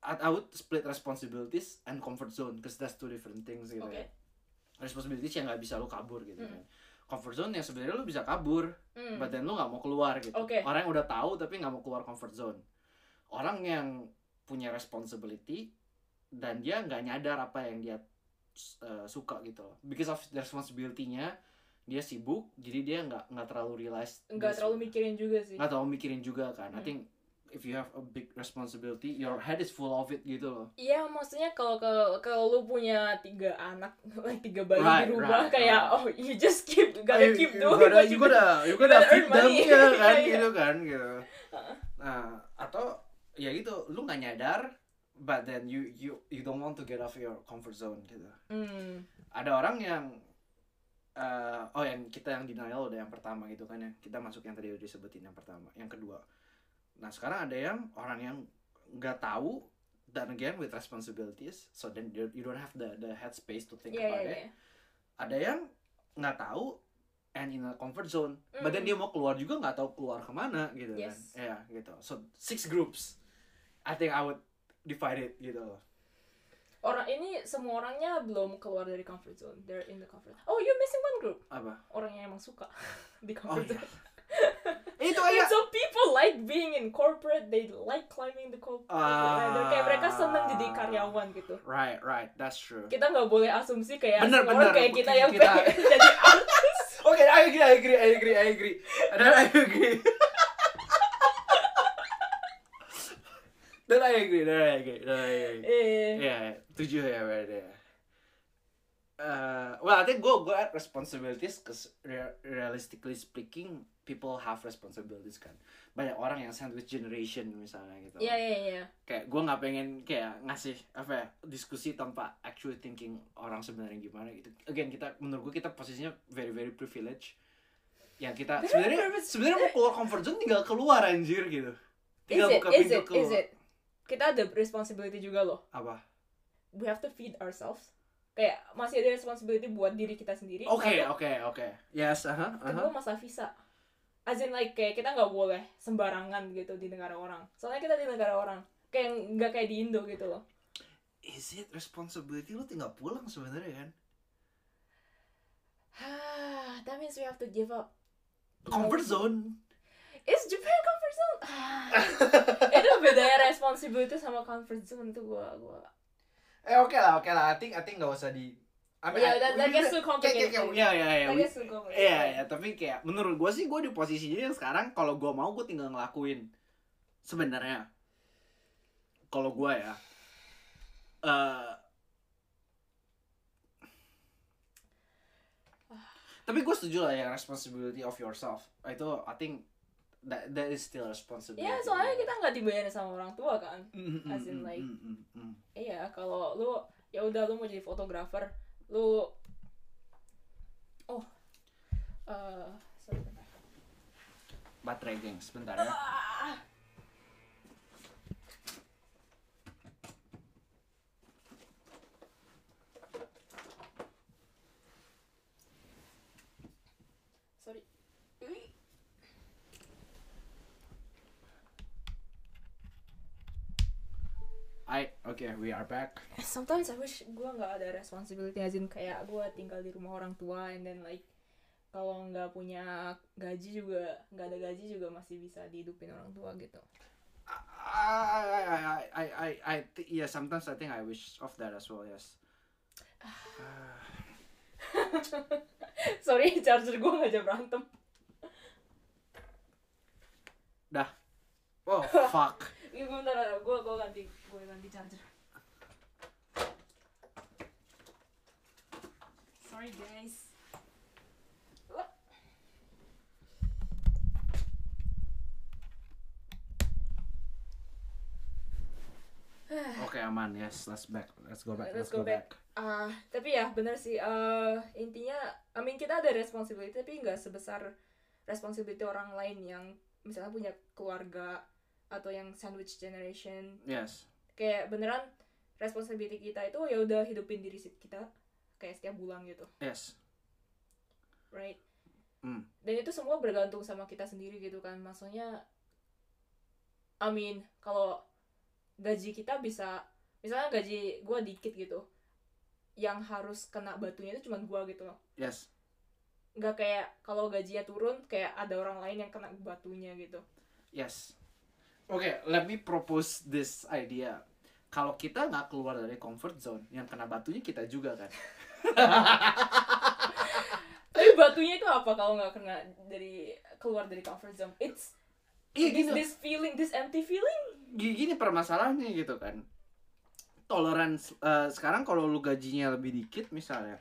I, I would split responsibilities and comfort zone because that's two different things gitu Oke. ya. Responsibilities yang nggak bisa lu kabur gitu Mm. kan. Comfort zone yang sebenarnya lu bisa kabur, Hmm. but then lu nggak mau keluar gitu. Oke. Orang yang udah tahu tapi nggak mau keluar comfort zone. Orang yang punya responsibility dan dia nggak nyadar apa yang dia uh, suka gitu loh. Because of the responsibility-nya dia sibuk, jadi dia nggak nggak terlalu realize, Nggak dia terlalu suka. mikirin juga sih. Nggak terlalu mikirin juga kan. I Hmm. think if you have a big responsibility, your head is full of it gitu loh. Iya, maksudnya kalau kalau kalau lu punya tiga anak, like tiga bayi Right, di rumah, right, kayak right. oh you just keep gotta You- keep you doing gotta, what you you gotta, you gotta gotta feed earn them money. ya kan, Iya, iya. gitu kan gitu. Nah, atau ya gitu, lu nggak nyadar, but then you you you don't want to get off your comfort zone gitu. Hmm. Ada orang yang uh, oh yang kita yang denial udah yang pertama gitu kan ya, kita masuk yang tadi udah disebutin yang pertama, yang kedua. Nah sekarang ada yang orang yang nggak tahu, dan again with responsibilities, so then you you don't have the the headspace to think Iya, about iya, it. iya. Ada yang nggak tahu and in a comfort zone, but then Mm. dia mau keluar juga nggak tahu keluar kemana gitu kan. Yes. Ya gitu. So six groups, I think I would divide it gitu loh. Orang ini semua orangnya belum keluar dari comfort zone. They're in the comfort. Oh, you're missing one group. Apa? Orang yang emang suka di Oh comfort iya. zone. Itu And aja. so people like being in corporate. They like climbing the corporate ladder. Kayak mereka seneng jadi karyawan gitu. Right, right, that's true. Kita nggak boleh asumsi kayak Bener, semua orang bener. kayak kita yang Kita- pengen jadi artis. Okay, I agree, I agree, I agree, I agree. Dan I agree. Dan I agree, dan I agree, dan I agree. Eh, Iya, tujuh ya berarti ya. Uh, well, I think go go at responsibilities, cause re- realistically speaking, people have responsibilities kan. Banyak orang yang sandwich generation misalnya gitu. Iya iya iya. Kayak gue nggak pengen kayak ngasih apa ya, diskusi tanpa actually thinking orang sebenarnya gimana gitu. Again kita menurut gue kita posisinya very very privileged. Yang kita sebenarnya privileged. sebenarnya mau keluar comfort zone tinggal keluar anjir gitu. Is Tinggal it? buka Is pintu it? keluar. Is it? Kita ada responsibility juga loh. Apa? We have to feed ourselves. Kayak masih ada responsibility buat diri kita sendiri. Oke Satu. oke oke. Yes, aha. Kedua masalah visa. As in like kayak kita nggak boleh sembarangan gitu di negara orang. Soalnya kita di negara orang. Kayak nggak kayak di Indo gitu loh. Is it responsibility lu tinggal pulang sebenarnya kan? That means we have to give up. Comfort zone. Is Japan comfort zone? Itu bedanya responsibility sama comfort zone tuh gua gua. Eh oke lah oke lah. I think I think nggak usah di. I Yeah, that- that gets too complicated. Kayak, kayak, ya ya ya. I we- guess we'll go with it. Iya ya, tapi kayak menurut gue sih gue di posisinya yang sekarang kalau gue mau gue tinggal ngelakuin sebenarnya. Kalau gue ya, eh tapi gue setuju lah ya responsibility of yourself. Itu I think that that is still responsibility. Ya soalnya kita nggak dibayarin sama orang tua kan. Mm, mm, as in mm, like- mm, mm, mm. Iya, kalau lu ya udah lu mau jadi fotografer, lu oh eh sorry, bentar. Baterai gengs, sebentar ya. Ah. Sorry. Ui. I okay, we are back. Sometimes I wish gue nggak ada responsibility, as in kayak gue tinggal di rumah orang tua, and then like kalau nggak punya gaji juga, nggak ada gaji juga masih bisa dihidupin orang tua gitu. I I I I I I th- yeah, sometimes I think I wish of that as well, yes. Sorry, charger gue ngajak berantem. Dah. Oh, fuck. Ini bentar, gue gue ganti gue ganti charger. Sorry guys. Oke, aman. Yes, let's back. Let's go back. Let's go back. Ah, tapi ya benar sih. eh intinya, I mean kita ada responsibility tapi nggak sebesar responsibility orang lain yang misalnya punya keluarga atau yang sandwich generation. Yes. Kayak beneran responsibility kita itu ya udah hidupin diri kita kayak setiap bulan gitu, Yes. right? Hmm. Dan itu semua bergantung sama kita sendiri gitu kan. Maksudnya, I mean kalau gaji kita bisa, misalnya gaji gue dikit gitu, yang harus kena batunya itu cuma gue gitu loh. Yes. Nggak kayak kalau gajinya turun kayak ada orang lain yang kena batunya gitu. Yes. Oke, okay, let me propose this idea. Kalau kita nggak keluar dari comfort zone, yang kena batunya kita juga kan. Tapi batunya itu apa kalau nggak kena dari keluar dari comfort zone? It's Iya this, gitu. this feeling, this empty feeling. Gini permasalahannya gitu kan. Tolerance uh, sekarang kalau lu gajinya lebih dikit misalnya,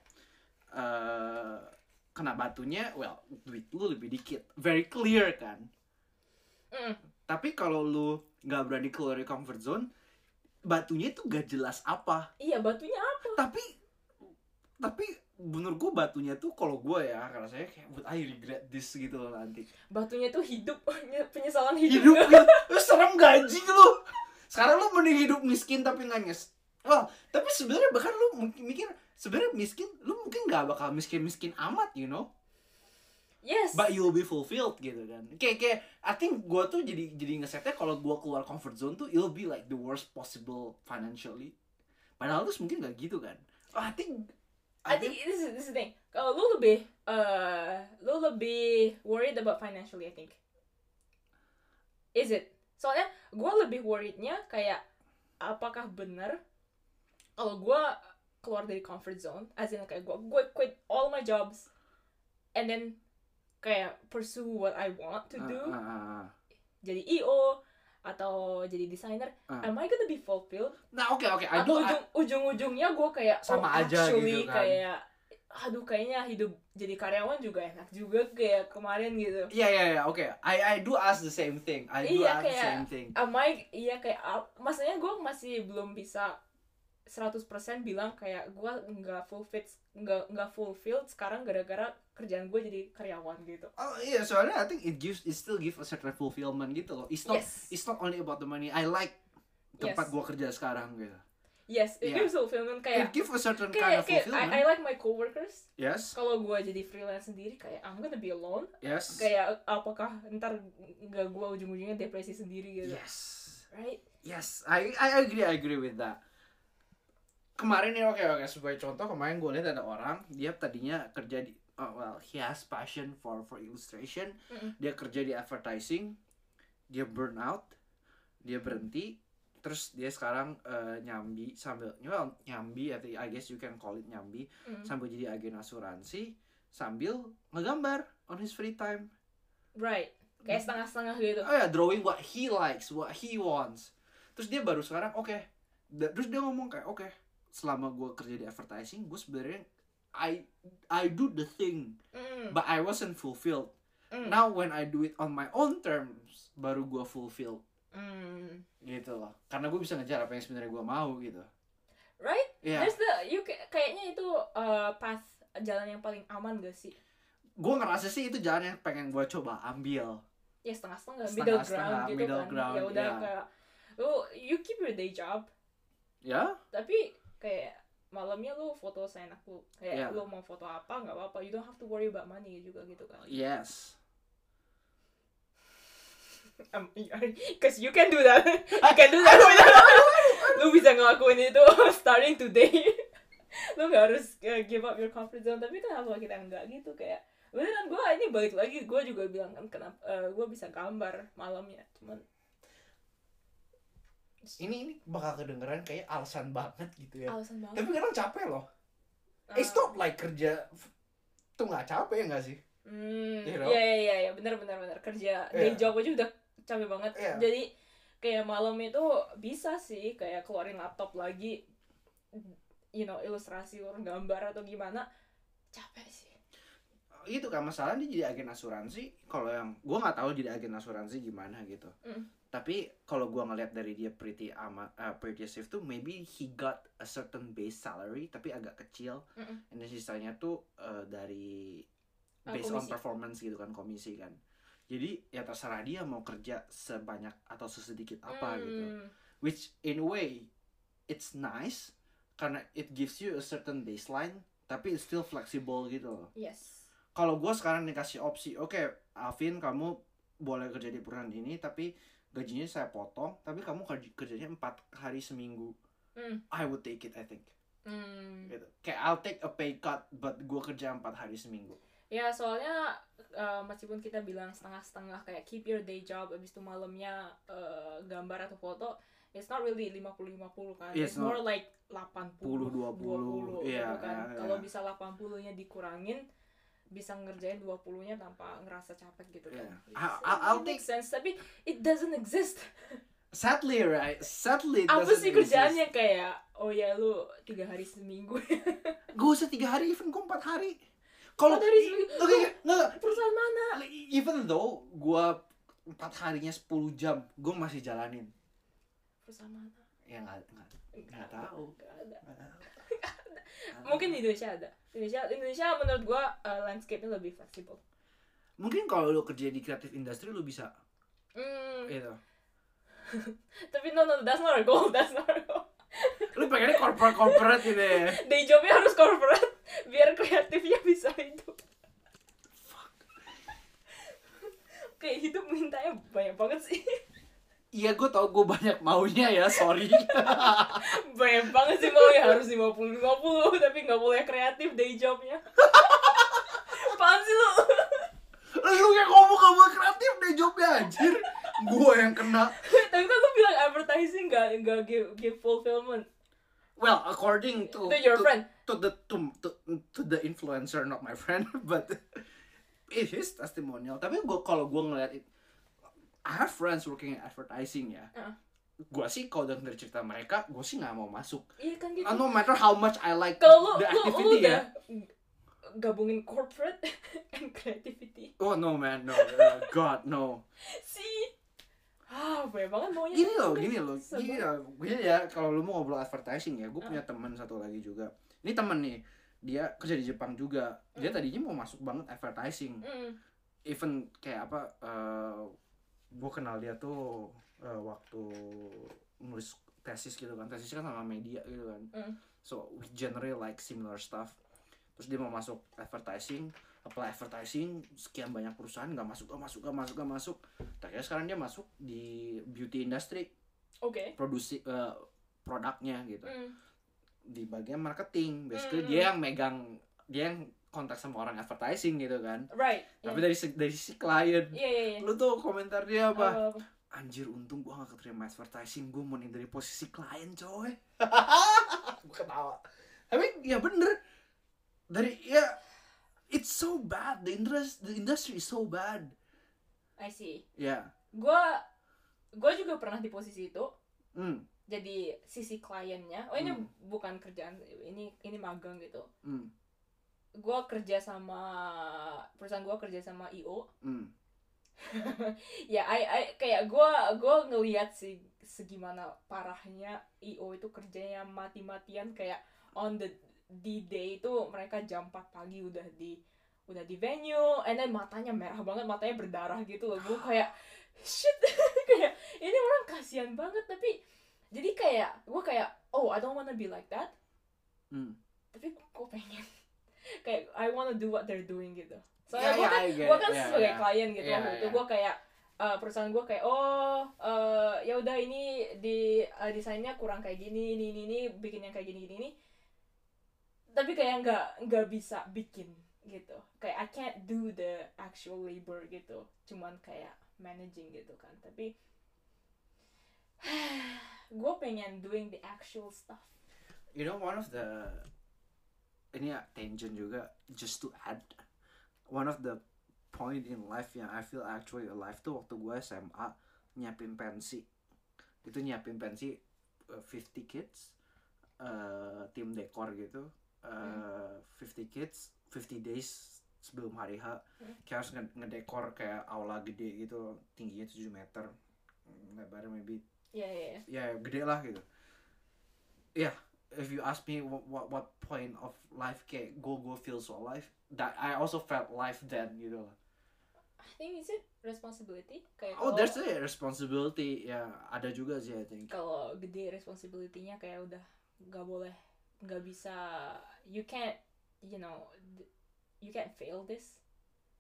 uh, kena batunya, well, duit lu lebih dikit, very clear kan. Mm. Tapi kalau lu nggak berani keluar dari comfort zone, batunya itu gak jelas apa. Iya, batunya apa? Tapi tapi menurut gue batunya tuh kalau gue ya, karena saya kayak would I regret this gitu loh nanti. Batunya tuh hidup, penyesalan hidup. Hidup lu serem gaji lu. Sekarang lu mending hidup miskin tapi nggak nyes. Well, tapi sebenarnya bahkan lu mungkin mikir sebenarnya miskin, lu mungkin nggak bakal miskin-miskin amat, you know. Yes. But you'll be fulfilled gitu kan. Kayak kayak I think gue tuh jadi jadi ngesetnya kalau gue keluar comfort zone tuh it'll be like the worst possible financially. Padahal tuh mungkin nggak gitu kan. Oh, I think I think this is this is the thing. Kalau lu lebih uh lu lebih worried about financially, I think. Is it? Soalnya gue lebih worriednya kayak apakah benar kalau gue keluar dari comfort zone, as in kayak gue gue quit all my jobs and then kayak pursue what I want to do, uh, uh, uh. jadi I O atau jadi desainer, uh. am I gonna be fulfilled? Nah oke okay, oke, okay. Atau ujung, ujung-ujungnya gue kayak sama oh, aja actually gitu kan. Kayak aduh kayaknya hidup jadi karyawan juga enak juga kayak kemarin gitu. Iya iya iya oke, I I do ask the same thing, I do Iya, ask kayak, the same thing. Am I iya kayak uh, maksudnya gue masih belum bisa seratus persen bilang kayak gue nggak fulfilled nggak nggak fulfilled sekarang gara-gara kerjaan gue jadi karyawan gitu. Oh iya, soalnya I think it gives it still give a certain fulfillment gitu loh. It's not Yes. it's not only about the money. I like tempat Yes. gue kerja sekarang gitu. Yes, it Yeah. gives fulfillment kayak It gives a certain kind kayak, of kayak fulfillment. I, I like my coworkers. Yes. Kalau gue jadi freelance sendiri kayak I'm gonna be alone. Yes. Kayak apakah ntar nggak gue ujung-ujungnya depresi sendiri gitu. Yes. Right? Yes. I I agree I agree with that. Kemarin nih oke oke sebagai contoh, kemarin gue lihat ada orang dia tadinya kerja di oh, well he has passion for for illustration. Mm-mm. Dia kerja di advertising, dia burn out, dia berhenti, terus dia sekarang uh, nyambi sambil well, nyambi atau I guess you can call it nyambi Mm. sambil jadi agen asuransi sambil ngegambar on his free time. Right. Kayak setengah-setengah gitu. Oh ya, drawing what he likes, what he wants. Terus dia baru sekarang oke. Okay. Terus dia ngomong kayak oke, okay, selama gue kerja di advertising, gue sebenarnya I I do the thing, Mm. but I wasn't fulfilled. Mm. Now when I do it on my own terms, baru gue fulfilled. Mm. Gitu loh. Karena gue bisa ngejar apa yang sebenarnya gue mau gitu. Right? Iya. There's the you kay- kayaknya itu uh, path jalan yang paling aman gak sih? Gue ngerasa sih itu jalan yang pengen gue coba ambil. Ya setengah-setengah, middle Setengah-setengah, ground gitu middle kan. ground, Ya udah iya. kayak lu you keep your day job, Ya? tapi kayak malamnya lu foto seenak lu. Kayak Yeah. lu mau foto apa nggak apa-apa. You don't have to worry about money juga gitu kan. Yes. Um, cause you can do that. You can do that. Lu bisa ngelakuin itu starting today. Lu gak harus uh, give up your comfort zone. Tapi kenapa kita enggak gitu kayak beneran gue ini balik lagi gue juga bilang kan kenapa uh, gue bisa gambar malamnya cuman Ini ini bakal kedengeran kayak alasan banget gitu ya. alasan banget. Tapi kadang capek loh. Uh, It's not like kerja tuh nggak capek ya nggak sih? Hmm, You know? iya iya iya, iya, benar benar benar kerja day Yeah. job aja udah capek banget. Yeah. Jadi kayak malam itu bisa sih kayak keluarin laptop lagi, you know, ilustrasi orang gambar atau gimana, capek sih. Itu kan masalah dia jadi agen asuransi. Kalau yang gue nggak tahu jadi agen asuransi gimana gitu. Mm. Tapi kalau gue ngeliat dari dia pretty amat uh, pretty safe tuh, maybe he got a certain base salary tapi agak kecil. Mm-mm. And then sisanya tuh uh, dari Uh, based on komisi. performance gitu kan, komisi kan. Jadi ya terserah dia mau kerja sebanyak atau sesedikit apa gitu. Hmm. Which in a way it's nice karena it gives you a certain baseline tapi it's still flexible gitu loh. Yes. Kalau gue sekarang dikasih opsi, oke okay, Alvin kamu boleh kerja di perusahaan ini tapi gajinya saya potong tapi kamu kerj- kerjanya empat hari seminggu, Hmm. I would take it I think. Hmm. Gitu. Kayak I'll take a pay cut but gue kerja empat hari seminggu. Ya soalnya uh, meskipun kita bilang setengah-setengah kayak keep your day job, abis itu malamnya uh, gambar atau foto, it's not really lima puluh lima puluh kan. Yes, It's more like delapan puluh dua puluh, gitu iya, kan. iya, Kalau iya. bisa delapan puluh-nya dikurangin, bisa ngerjain dua puluh-nya tanpa ngerasa capek gitu kan. Yeah. It's- I- I- I'll it makes sense, tapi it doesn't exist. Sadly right, sadly it Apa doesn't sih exist. kerjaannya kayak, oh ya lu tiga hari seminggu. Gue usah tiga hari, even gue empat hari. Kalau Empat hari seminggu? oke okay, nggak, Perusahaan mana? even though gue empat harinya sepuluh jam, gue masih jalanin. Perusahaan mana? Ya nggak nggak nggak tahu. Nggak ada. Nggak tahu. Mungkin di Indonesia ada. Indonesia Indonesia menurut gua uh, landscape-nya lebih fleksibel. Mungkin kalau lu kerja di kreatif industri lu bisa Hmm, gitu. tapi no no that's not our goal, that's not our goal. Lu pengennya corporate corporate gitu ya. Day jobnya harus corporate biar kreatifnya bisa hidup. Kayak hidup mintanya banyak banget sih. Iya gue tau gue banyak maunya ya, sorry. Banyak banget sih maunya harus lima puluh lima puluh tapi nggak boleh kreatif day jobnya. Apaan sih lu? Lu yang ngomong gak mau kreatif deh jobnya anjir. Gue yang kena. Tapi kan lu bilang advertising nggak nggak give, give fulfillment. Well, according to To your to, friend. to the to, to, to the influencer, not my friend, but it is testimonial. Tapi gue kalau gue ngeliat it, I have friends working in advertising ya. Uh. Gue sih kalau denger cerita mereka, gue sih nggak mau masuk. Iya kan gitu. Uh, no matter how much I like Kalau lu, the lu, lu activity udah ya. gabungin corporate and creativity. Oh no man, no, uh, God no. Si ah banyak banget maunya. Gini loh, gini loh, Sebel. gini loh, gini ya. Kalau lu mau ngobrol advertising ya, gue Uh. punya teman satu lagi juga. Ini temen nih, dia kerja di Jepang juga. Dia Mm. tadinya mau masuk banget advertising. Mm. Even kayak apa? Uh, gue kenal dia tuh uh, waktu nulis tesis gitu kan. Tesis kan sama media gitu kan. Mm. So we generally like similar stuff. Terus dia mau masuk advertising, apply advertising, sekian banyak perusahaan nggak masuk, nggak masuk, nggak masuk, nggak masuk. Ternyata sekarang dia masuk di beauty industry, Oke. produksi uh, produknya gitu. Mm. Di bagian marketing, basically Mm. dia yang megang, dia yang kontak sama orang advertising gitu kan. Right. Tapi yeah. dari si- dari sisi klien, Iya iya iya. lu tuh komentar dia apa? Apa, apa? Anjir, untung gua gak keterima advertising, gua mau nih dari posisi klien coy. Gua ketawa. Tapi ya bener, dari ya it's so bad, the industry the industry is so bad. I see. Ya. Gua gua juga pernah di posisi itu. Hmm. Jadi sisi kliennya. Oh ini Hmm. bukan kerjaan, ini ini magang gitu. Hmm. Gua kerja sama perusahaan gua kerja sama I O. Hmm. Ya, I, I kayak gue gue ngelihat sih segimana parahnya I O itu kerjanya mati-matian kayak on the di day itu mereka jam empat pagi udah di udah di venue, and then matanya merah banget, matanya berdarah gitu loh. Gue kayak shit, kayak ini orang kasihan banget. Tapi jadi kayak gue kayak oh I don't wanna be like that. Hmm. Tapi gue pengen kayak I wanna do what they're doing gitu. Yeah, Soalnya gue yeah, kan, I get gue it. kan Yeah, sebagai yeah. klien gitu Yeah, waktu itu yeah. gue kayak uh, perusahaan gue kayak oh uh, ya udah ini di uh, desainnya kurang kayak gini, ini ini ini bikin yang kayak gini gini ini. Tapi kayak nggak nggak bisa bikin gitu. Kayak I can't do the actual labor gitu. Cuman kayak managing gitu kan. Tapi gue pengen doing the actual stuff. You know, one of the ini ya tangent juga, just to add, one of the point in life yang I feel actually alive tuh waktu gue S M A nyiapin pensi. Itu nyiapin pensi uh, fifty kids, uh, tim dekor gitu, uh, Hmm. fifty kids, fifty days sebelum hari H. Hmm. Kayak harus nge- ngedekor kayak aula gede gitu, tingginya tujuh meter, lebarnya maybe Ya ya ya. ya gede lah gitu. Ya, yeah, if you ask me what, what what point of life kayak go go feel so alive, that I also felt life then gitu loh. I think is it responsibility kayak Oh, kalau- there's a responsibility ya, ada juga sih I think. kalau gede responsibility-nya kayak udah nggak boleh, nggak bisa, you can't, you know, you can't fail this.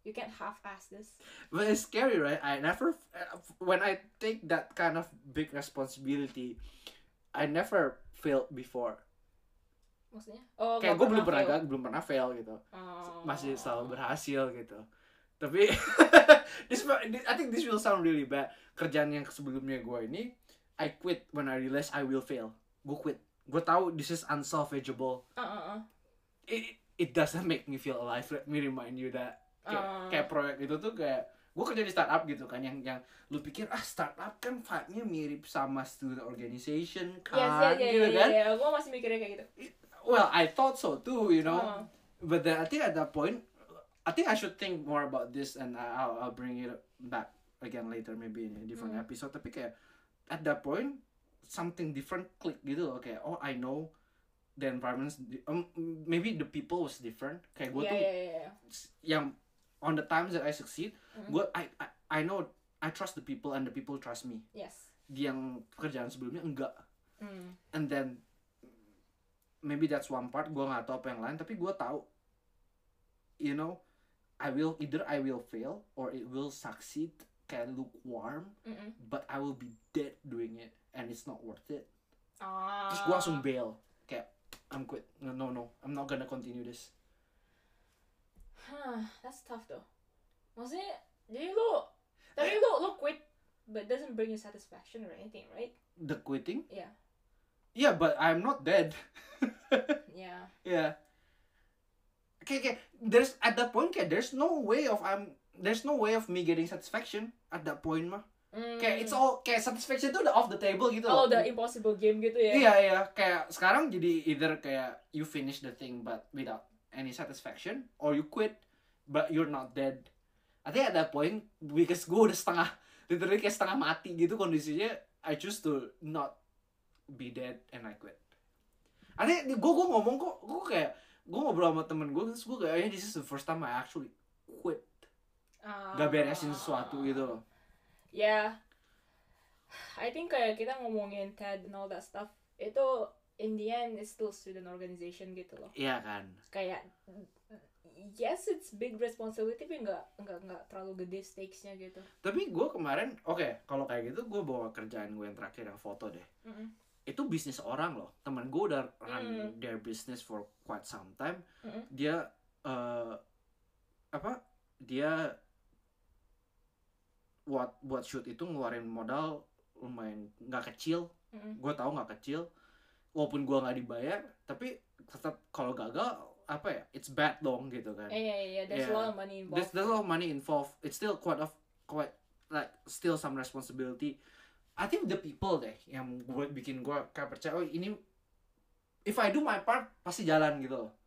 You can't half-ass this. But it's scary, right? I never, when I take that kind of big responsibility, I never failed before. Maksudnya? Oh, Kayak nggak gue belum pernah fail. gagal, belum pernah fail gitu. Oh. Masih selalu berhasil gitu. Tapi this, I think this will sound really bad. Kerjaan yang sebelumnya gue ini, I quit when I realize I will fail. Gue quit. Gue tahu this is unsalvageable. Uh, uh, uh. It, it doesn't make me feel alive. Let me remind you that. Kayak, Uh. kayak proyek itu tuh kayak gue kerja di startup gitu kan, yang yang lu pikir ah startup kan vibe-nya mirip sama student organization kan, Yes, yeah, yeah, gitu yeah, kan. yeah, yeah. Gue masih mikirnya kayak gitu. Well, I thought so too, you know. Uh. But then I think at that point, I think I should think more about this, and I'll I'll bring it back again later, maybe in a different Hmm. episode. Tapi kayak at that point something different click gitu loh, kayak oh I know the environments, um, maybe the people was different. Kayak gue Yeah, tuh yeah, yeah, yeah. yang on the times that I succeed, Mm. gue I, I I know I trust the people and the people trust me. Yes. Di yang pekerjaan sebelumnya enggak. Mm. And then maybe that's one part, gue nggak tahu apa yang lain, tapi gue tahu, you know, I will either I will fail or it will succeed, kayak lukewarm, Mm-mm. but I will be dead doing it and it's not worth it. Ah. Terus gue langsung bail, kayak I'm quit, no no no, I'm not gonna continue this. Huh, that's tough though. Maksudnya, jadi lu, tapi lu lu quit, but doesn't bring you satisfaction or anything, right? The quitting? Yeah. Yeah, but I'm not dead. Yeah. Yeah. Okay, okay. There's at that point, kayak there's no way of I'm there's no way of me getting satisfaction at that point mah. Mm. Kayak it's all kayak satisfaction itu udah off the table gitu Oh, loh. the impossible game gitu ya? Iya iya, kayak sekarang jadi either kayak you finish the thing but without any satisfaction, or you quit but you're not dead. I think at that point, because gue udah setengah, literally kayak setengah mati gitu kondisinya, I choose to not be dead and I quit. I think gue gue ngomong kok, gue kayak gue ngobrol sama temen gue, terus gue kayak this is the first time I actually quit. Ah. Gak beresin sesuatu gitu loh. Yeah. I think kayak kita ngomongin T E D and all that stuff, itu in the end it's still student organization gitu loh. Iya kan. Kayak yes it's big responsibility, tapi nggak nggak nggak terlalu gede stakesnya gitu. Tapi gue kemarin, oke, okay, kalau kayak gitu gue bawa kerjaan gue yang terakhir yang foto deh. Mm-mm. Itu bisnis orang loh. Temen gue udah run Mm. their business for quite some time. Mm-mm. Dia uh, apa? Dia buat buat shoot itu ngeluarin modal lumayan nggak kecil. Mm-mm. Gue tahu nggak kecil. Walaupun gue nggak dibayar, tapi tetap kalau gagal apa ya? It's bad dong gitu kan. Yeah, yeah, yeah. There's Yeah. a lot of money involved. There's, there's a lot of money involved. It's still quite of quite like still some responsibility. I think the people deh yang gue bikin gue kayak percaya, oh ini if I do my part pasti jalan gitu loh.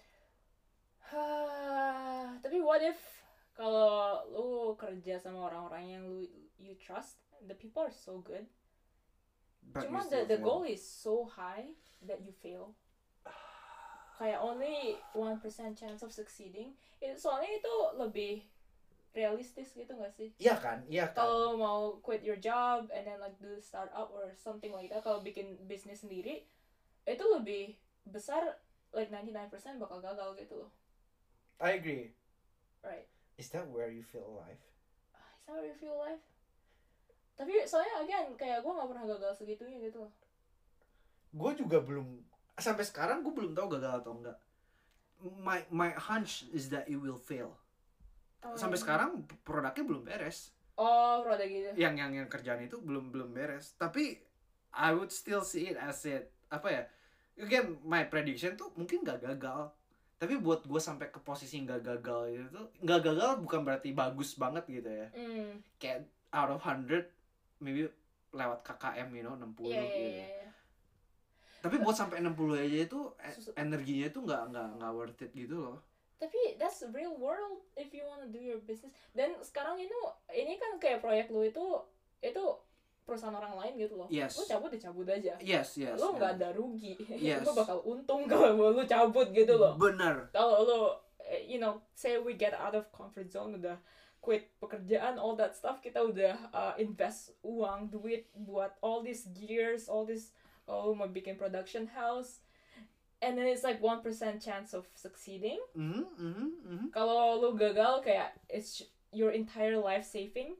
Tapi what if kalau lu kerja sama orang-orang yang lu you trust, the people are so good, But cuma you the still the fail. goal is so high that you fail. Kayak only one percent chance of succeeding. Itu soalnya itu lebih realistis gitu gak sih? Iya kan, iya kan. Kalau mau quit your job and then like do startup or something like that, kalau bikin bisnis sendiri, itu lebih besar, like ninety-nine percent bakal gagal gitu loh. I agree. Right. Is that where you feel alive? Is that how you feel life? Tapi soalnya again, kayak gue gak pernah gagal segitunya gitu loh. Gue juga belum, sampai sekarang gue belum tahu gagal atau enggak. My my hunch is that it will fail. Oh, Sampai iya. sekarang produknya belum beres. Oh, produk gitu. Yang yang yang kerjaan itu belum belum beres. Tapi I would still see it as it apa ya? Again, my prediction tuh mungkin nggak gagal. Tapi buat gue sampai ke posisi nggak gagal itu, nggak gagal bukan berarti bagus banget gitu ya. Hmm. Kayak out of one hundred, maybe lewat K K M, you know, enam puluh Iya, iya, gitu. iya, iya. Tapi buat sampai enam puluh aja itu e- Susah. energinya itu nggak nggak nggak worth it gitu loh. Tapi that's the real world if you wanna do your business. Dan sekarang itu, ini kan kayak proyek lu itu, itu perusahaan orang lain gitu loh. Yes. Lu cabut ya cabut aja. Yes, yes. Lu nggak yes. ada rugi. Yes. Lu bakal untung kalau lu cabut gitu loh. Bener. Kalau lu, eh, you know, say we get out of comfort zone, udah quit pekerjaan, all that stuff, kita udah uh, invest uang, duit buat all these gears, all this, oh mau bikin production house. and then it's like one percent chance of succeeding. Mhm, mhm, mhm. Kalau lu gagal kayak it's your entire life saving.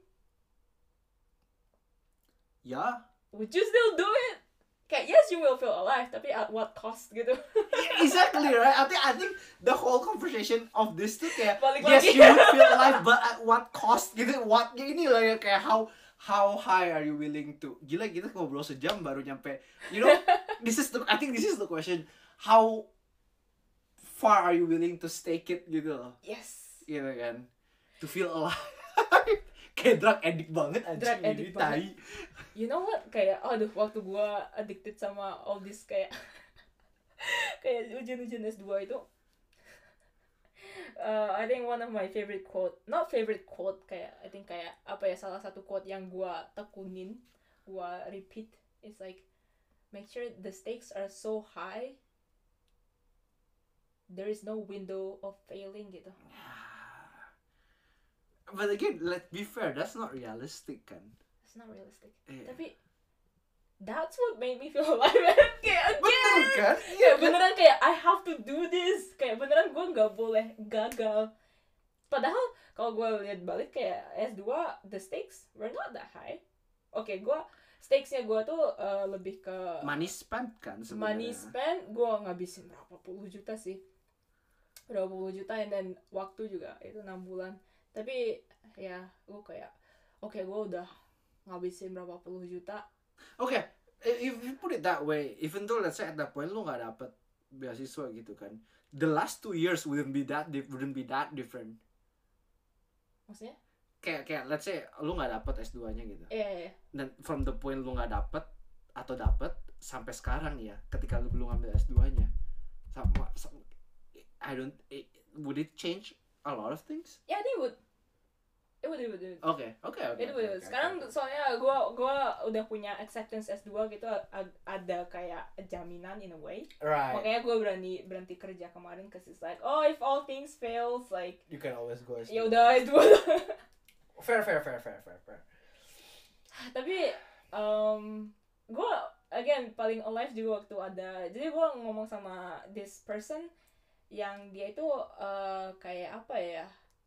Ya, Would you still do it? Kayak yes you will feel alive, tapi at what cost gitu. yeah, exactly right. I think I think the whole conversation of this tuh kayak Balik yes lagi. you would feel alive but at what cost gitu. What ini lah ya kayak how how high are you willing to? Gila kita ngobrol sejam baru nyampe. You know, this is the I think this is the question. How far are you willing to stake it gitu loh. Yes. Gitu kan. To feel alive. Kayak drug addict banget anjing Drug ini, addict tai. You know what? Kayak aduh waktu gua addicted sama all this kayak kayak ujian-ujian S dua itu. Uh, I think one of my favorite quote, not favorite quote kayak I think kayak apa ya salah satu quote yang gua tekunin, gua repeat is like make sure the stakes are so high there is no window of failing gitu. But again, let's be fair, that's not realistic kan. It's not realistic. Iya. Tapi that's what made me feel alive. Kayak again. Bener kan? Iya Kayak kan? beneran kayak I have to do this. Kayak beneran gue nggak boleh gagal. Padahal kalau gue lihat balik kayak S dua the stakes were not that high. Oke, okay, gue stakesnya gue tuh uh, lebih ke Money spent kan sebenarnya. money spent. Gue ngabisin berapa puluh juta sih. Berapa puluh juta and then waktu juga itu enam bulan. Tapi ya gue kayak oke okay, gue udah ngabisin berapa puluh juta. Oke, okay, if you put it that way, even though let's say at that point lu nggak dapet beasiswa gitu kan, the last two years wouldn't be that dif- wouldn't be that different. Maksudnya? Kayak kayak let's say lu nggak dapet S dua-nya gitu. Iya, yeah, iya. Yeah. Dan from the point lu nggak dapet atau dapet sampai sekarang ya, ketika lu belum ngambil S dua-nya, sama, sama I don't it, would it change a lot of things? Ya, yeah, I think it would. It would, it would, it would. Oke, oke, oke. It would. Sekarang soalnya gue gua udah punya acceptance S dua gitu, a- ada kayak jaminan in a way. Right. Makanya gue berani berhenti kerja kemarin, cause it's like, oh if all things fails, like You can always go S dua. ya udah S dua. Fair, fair, fair, fair, fair, fair. Tapi um, gue again paling alive juga waktu ada, jadi gue ngomong sama this person yang dia itu uh, kayak apa ya,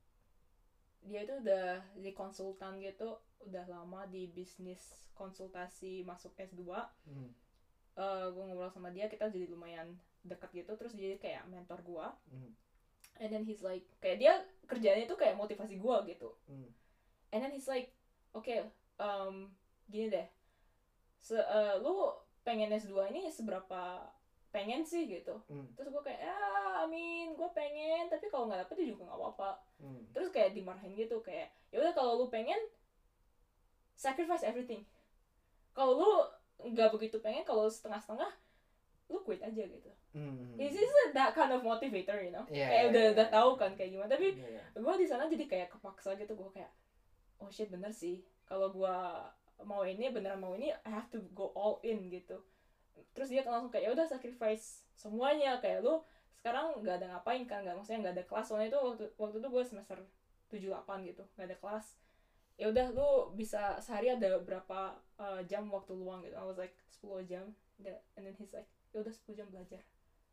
dia itu udah jadi konsultan gitu, udah lama di bisnis konsultasi masuk S dua. Hmm. Uh, gue ngobrol sama dia, kita jadi lumayan dekat gitu, terus dia kayak mentor gue. Hmm. And then he's like, kayak dia kerjanya itu kayak motivasi gue gitu. Hmm. And then he's like, oke, okay, um, gini deh, Se- uh, lu pengen S dua ini seberapa pengen sih gitu. Hmm. Terus gue kayak, ya, I mean, gue pengen, tapi kalau nggak dapet ya juga nggak apa-apa. Hmm. Terus kayak dimarahin gitu, kayak, ya udah kalau lu pengen, sacrifice everything. Kalau lu nggak begitu pengen, kalau setengah-setengah, lu quit aja gitu. Hmm. He's just that kind of motivator, you know. Yeah, kayak yeah, udah yeah, udah yeah. tahu kan kayak gimana. Tapi Yeah. gue di sana jadi kayak kepaksa gitu, gue kayak, oh shit bener sih. Kalau gue mau ini beneran mau ini, I have to go all in gitu. Terus dia langsung kayak ya udah sacrifice semuanya, kayak lu sekarang nggak ada ngapain kan, nggak maksudnya nggak ada kelas, soalnya itu waktu waktu itu gue semester tujuh delapan gitu, nggak ada kelas. Ya udah lu bisa sehari ada berapa uh, jam waktu luang gitu. I was like sepuluh jam, and then he's like ya udah sepuluh jam belajar.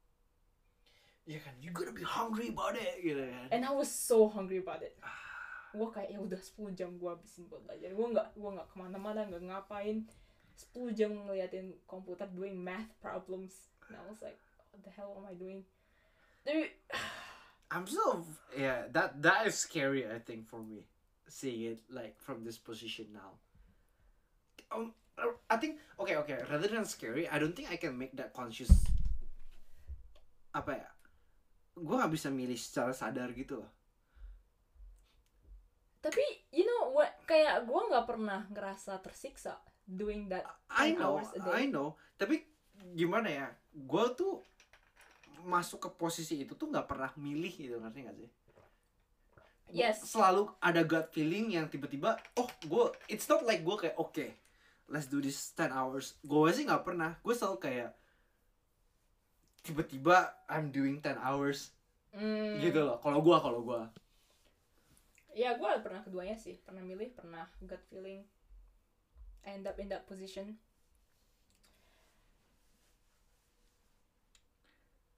Ya kan, you gotta be hungry about it gitu kan. And I was so hungry about it. Gue kayak ya udah sepuluh jam gue habisin buat belajar. Gue nggak gue nggak kemana-mana, nggak ngapain. sepuluh jam ngeliatin komputer doing math problems. And I was like, what the hell am I doing? Tapi I'm so yeah, that that is scary I think for me, seeing it like from this position now. Um, I think okay okay rather than scary, I don't think I can make that conscious. Apa ya? Gue nggak bisa milih secara sadar gitu loh. tapi you know what, kayak gue nggak pernah ngerasa tersiksa doing that I ten know, hours a day. I know. Tapi gimana ya? Gue tuh masuk ke posisi itu tuh nggak pernah milih gitu, ngerti nggak sih? Yes. Selalu ada gut feeling yang tiba-tiba, oh gue, it's not like gue kayak oke, okay, let's do this ten hours. Gue sih nggak pernah. Gue selalu kayak tiba-tiba I'm doing ten hours Hmm. gitu loh. Kalau gue, kalau gue. Ya gue pernah keduanya sih, pernah milih, pernah gut feeling. I end up in that position.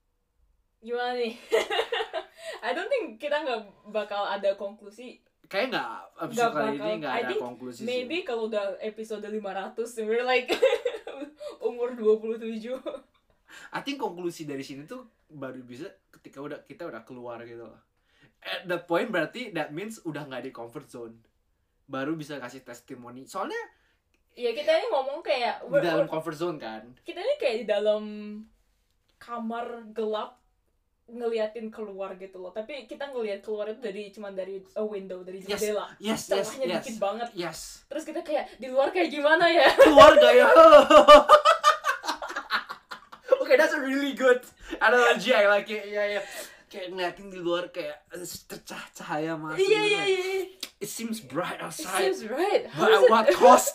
Gimana nih? I don't think kita nggak bakal ada konklusi. Kayak nggak Nggak episode kali bakal. ini nggak I ada think konklusi maybe sih. kalau udah episode lima ratus, we're like umur dua puluh tujuh. I think konklusi dari sini tuh baru bisa ketika udah kita udah keluar gitu loh. At that point berarti that means udah nggak di comfort zone. Baru bisa kasih testimoni. Soalnya Ya kita ini ngomong kayak di dalam comfort zone kan. kita ini kayak di dalam kamar gelap ngeliatin keluar gitu loh. Tapi kita ngeliat keluar itu dari cuman dari a window, dari Yes, jendela. yes, yes, Celahnya yes. dikit banget. Yes. Terus kita kayak di luar kayak gimana ya? Keluar gak ya? Okay, that's a really good analogy. I like it. Iya, iya. Kayak ngeliatin di luar kayak eh, tercah cahaya masuk. Iya gitu iya kan. iya. It seems bright It outside. seems right. How But is at it? what cost?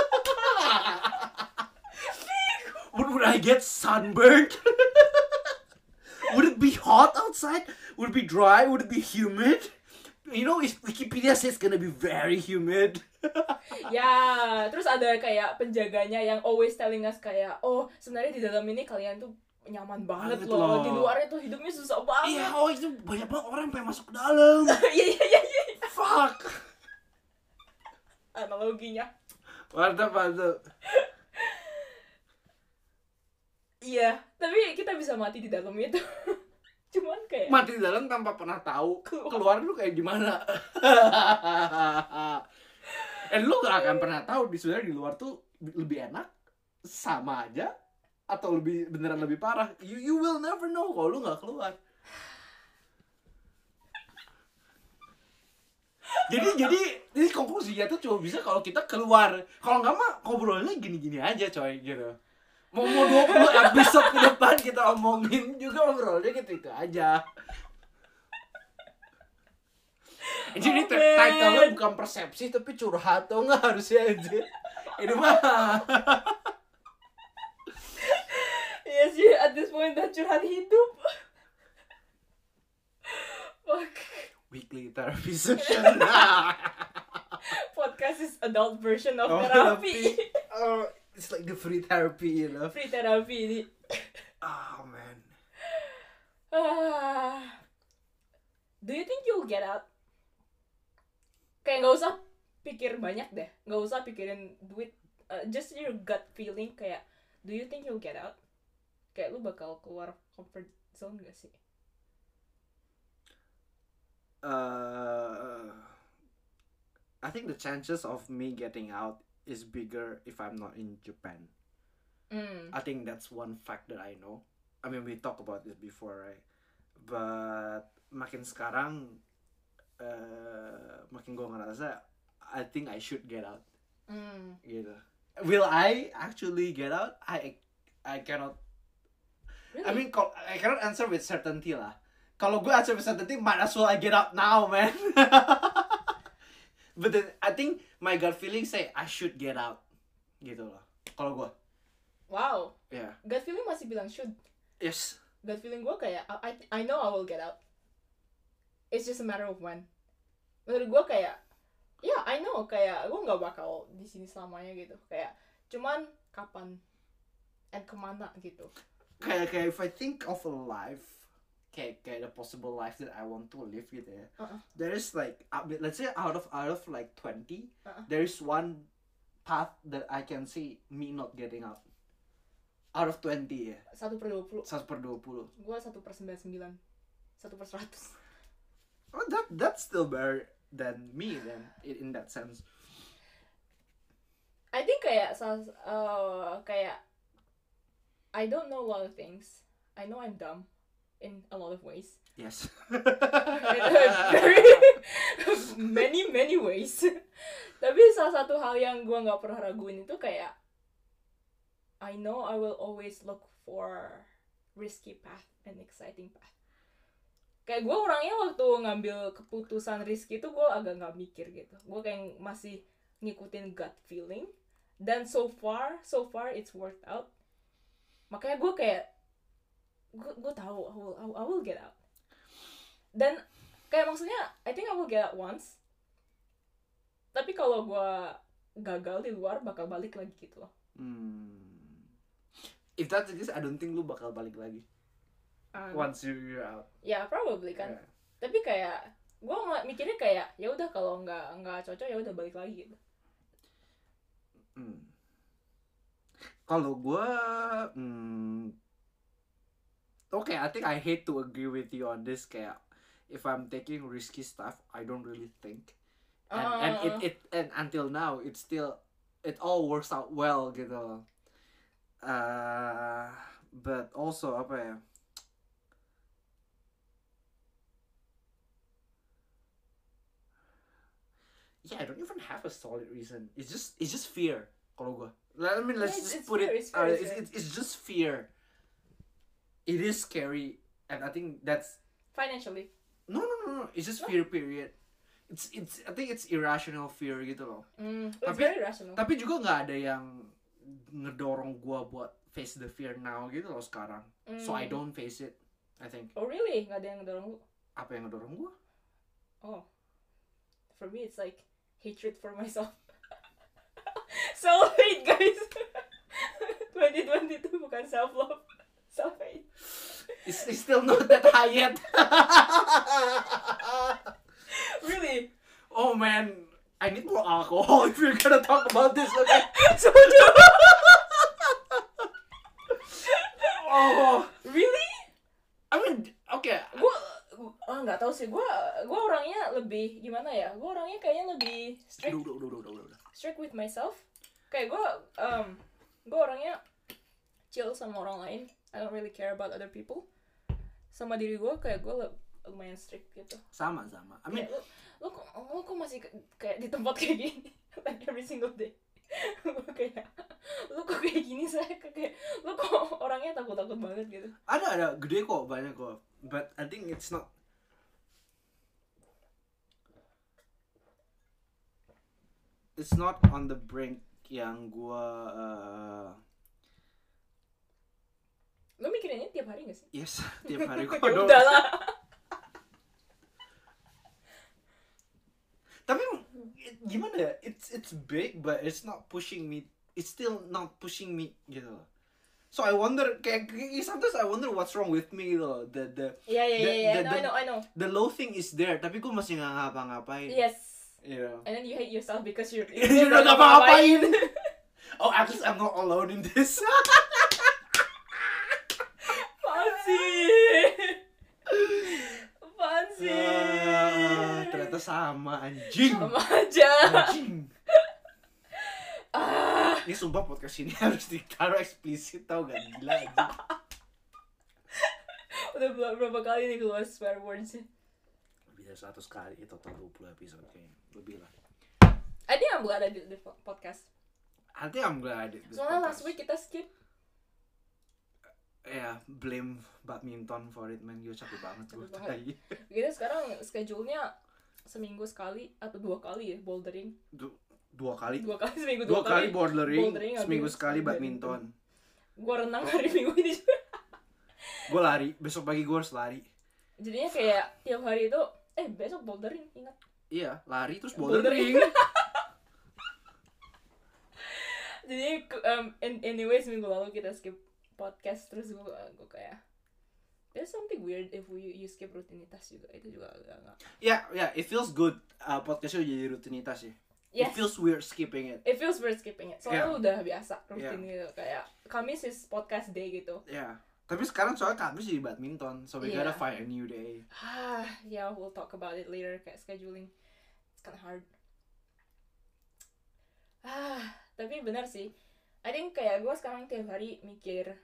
would, would I get sunburned? Would it be hot outside? Would it be dry? Would it be humid? You know, if Wikipedia says it's gonna be very humid. Ya, terus ada kayak penjaganya yang always telling us kayak, oh sebenarnya di dalam ini kalian tuh nyaman banget Banget loh. loh. Di luarnya tuh hidupnya susah banget. Iya, oh itu banyak banget orang yang pengen masuk ke dalam. Iya iya iya iya. Fuck. Analoginya. Mantap, mantap. Iya, tapi kita bisa mati di dalam itu. Cuman kayak Mati di dalam tanpa pernah tahu Keluar. keluar lu kayak gimana. Dan lu gak akan pernah tahu di sebenarnya di luar tuh lebih enak, sama aja, atau lebih beneran lebih parah. You you will never know kalau lu nggak keluar. jadi jadi ini konklusinya tuh cuma bisa kalau kita keluar. Kalau nggak mah ngobrolnya gini-gini aja coy gitu. Mau mau dua puluh episode ke depan kita omongin juga ngobrolnya gitu itu aja. Jadi Oh, t- title-nya man. bukan persepsi tapi curhat tuh nggak harusnya aja. Ini mah Iya sih, at this point udah curhat hidup. Fuck. weekly therapy session. Podcast is adult version of Oh, therapy. Oh, it's like the free therapy, you know. Free therapy ini. Oh man. Ah. Do you think you'll get out? Kayak nggak usah pikir banyak deh, nggak usah pikirin duit. Uh, just your gut feeling kayak, do you think you'll get out? Kayak lu bakal keluar comfort zone gak sih? Uh, I think the chances of me getting out is bigger if I'm not in Japan. Hmm. I think that's one fact that I know. I mean, we talked about this before, right? But makin sekarang, uh, makin gue ngerasa, I think I should get out. Hmm. Gitu. Will I actually get out? I I cannot. Really? I mean, call- I cannot answer with certainty lah. Kalau gue answer with certainty, might as well I get out now, man. But then I think my gut feeling say I should get out, gitu loh. Kalau gue, Wow. ya, yeah. Gut feeling masih bilang should. Yes. Gut feeling gue kayak, I, I I know I will get out. It's just a matter of when. Menurut gue kayak, ya yeah, I know kayak gue nggak bakal di sini selamanya gitu. Kayak cuman kapan and kemana gitu. Kayak kayak if I think of a life, kayak kayak the possible life that I want to live gitu ya. Uh-uh. There is like, uh, let's say out of out of like twenty, Uh-uh. there is one path that I can see me not getting out. Out of twenty ya. Satu per dua puluh. Satu per dua puluh. Gue satu per sembilan sembilan. Satu per seratus. Oh, that that's still better than me then in, in that sense. I think kayak uh, kayak I don't know a lot of things. I know I'm dumb in a lot of ways. Yes. Very many many ways. Tapi salah satu hal yang gue nggak pernah raguin itu kayak I know I will always look for risky path and exciting path. Kayak gue orangnya waktu ngambil keputusan risky itu gue agak nggak mikir gitu. Gue kayak masih ngikutin gut feeling. Dan so far, so far it's worked out. Makanya gue kayak gue gue tahu I will, I will get out. Dan kayak maksudnya I think I will get out once. Tapi kalau gue gagal di luar bakal balik lagi gitu loh. Hmm. If that's the case, I don't think lu bakal balik lagi. Um, once you you're out. ya probably kan. Yeah. Tapi kayak gue nggak mikirnya kayak ya udah kalau nggak nggak cocok ya udah balik lagi gitu. Hmm. Kalau gue, hmm, oke, okay, I think I hate to agree with you on this. Kayak if I'm taking risky stuff, I don't really think, and Uh, and it it and until now it still it all works out well gitu. Uh, but also apa ya? Yeah, I don't even have a solid reason. It's just it's just fear. Kalau gue, I mean, let's Yeah, it's- just it's put fear, it. it's fear, uh, it's it's, fear. it's it's just fear. It is scary, and I think that's financially. no no no no. It's just No? fear. Period. It's it's I think it's irrational fear gitu loh. Mm, it's Tapi- very rational. Tapi juga nggak ada yang ngedorong gue buat face the fear now gitu loh sekarang. So I Mm. don't face it. I think Oh really? Nggak ada yang ngedorong lu? apa yang ngedorong gue? Oh, for me it's like hatred for myself. Self hate guys. twenty twenty-two bukan self love, self hate. It's, it's still not that high yet. Really? Oh man, I need more alcohol if you're gonna talk about this. Okay. Soju. Oh, Really? I mean, okay. Gue ah nggak tahu sih. Gue gue orangnya lebih gimana ya? Gue orangnya kayaknya lebih strict Udah, udah, udah, udah, udah, udah. strict with myself. Kayak gue um, gue orangnya chill sama orang lain. I don't really care about other people. Sama diri gue kayak gue lumayan strict gitu. Sama, sama. I mean, Kayak, lu, lu, kok, lu kok masih ke- kayak di tempat kayak gini like every single day. Gue kayak lu kok kayak gini saya kayak lu kok orangnya takut-takut banget gitu. ada, ada. Gede kok, banyak kok. But I think it's not. It's not on the brink yang gua. Uh, Lu mikirin ini tiap hari gak sih? yes, tiap hari gua Ya doang. udahlah. Tapi it- gimana ya? It's it's big, but it's not pushing me. It's still not pushing me gitu loh. So I wonder, kayak kayak- sometimes I wonder what's wrong with me gitu loh. The the Iya iya The- iya iya. the- I know I the- know I know. the low thing is there, tapi gue masih nggak ngapa-ngapain. Yes. You know. And then you hate yourself because you're You're not ngapa-ngapain. Oh, at least I'm not alone in this. Apaan sih? Apaan sih? Ah, ternyata sama anjing. Sama aja. Anjing. Ah. Ini sumpah podcast ini harus ditaruh eksplisit, tau gak? Gila anjing. Udah berapa, berapa kali nih keluar swear words? Lebih dari seratus kali, total dua puluh episode kayaknya. Lebih lah. I think I'm glad I did the podcast. I think I'm glad I did this Soalnya podcast. last week kita skip. Ya, blame badminton for it, man. Gue capek banget gue Capek banget. tadi. Kita sekarang schedule-nya seminggu sekali atau dua kali ya bouldering. Du- Dua kali. Dua kali seminggu Dua dua, kali bouldering, bouldering, seminggu habis sekali badminton. badminton. Gua renang hari minggu ini juga. Gue lari, besok pagi gue harus lari. Jadinya kayak tiap hari itu eh besok bouldering, ingat. Iya, lari terus Bouldering. bouldering. Jadi um, in- anyway seminggu lalu kita skip podcast terus gue gue kayak there's something weird if we you skip rutinitas juga, itu juga agak nggak. Ya, ya, it feels good. Uh, podcastnya jadi rutinitas ya. Yes. It feels weird skipping it. It feels weird skipping it. Soalnya Yeah. udah biasa rutin Yeah. gitu kayak Kamis is podcast day gitu. Ya, tapi sekarang soalnya Kamis jadi badminton, so we Yeah. gotta find a new day. Ah, yeah, we'll talk about it later kayak scheduling. It's kind of hard. Ah, tapi benar sih. I think kayak gue sekarang tiap hari mikir.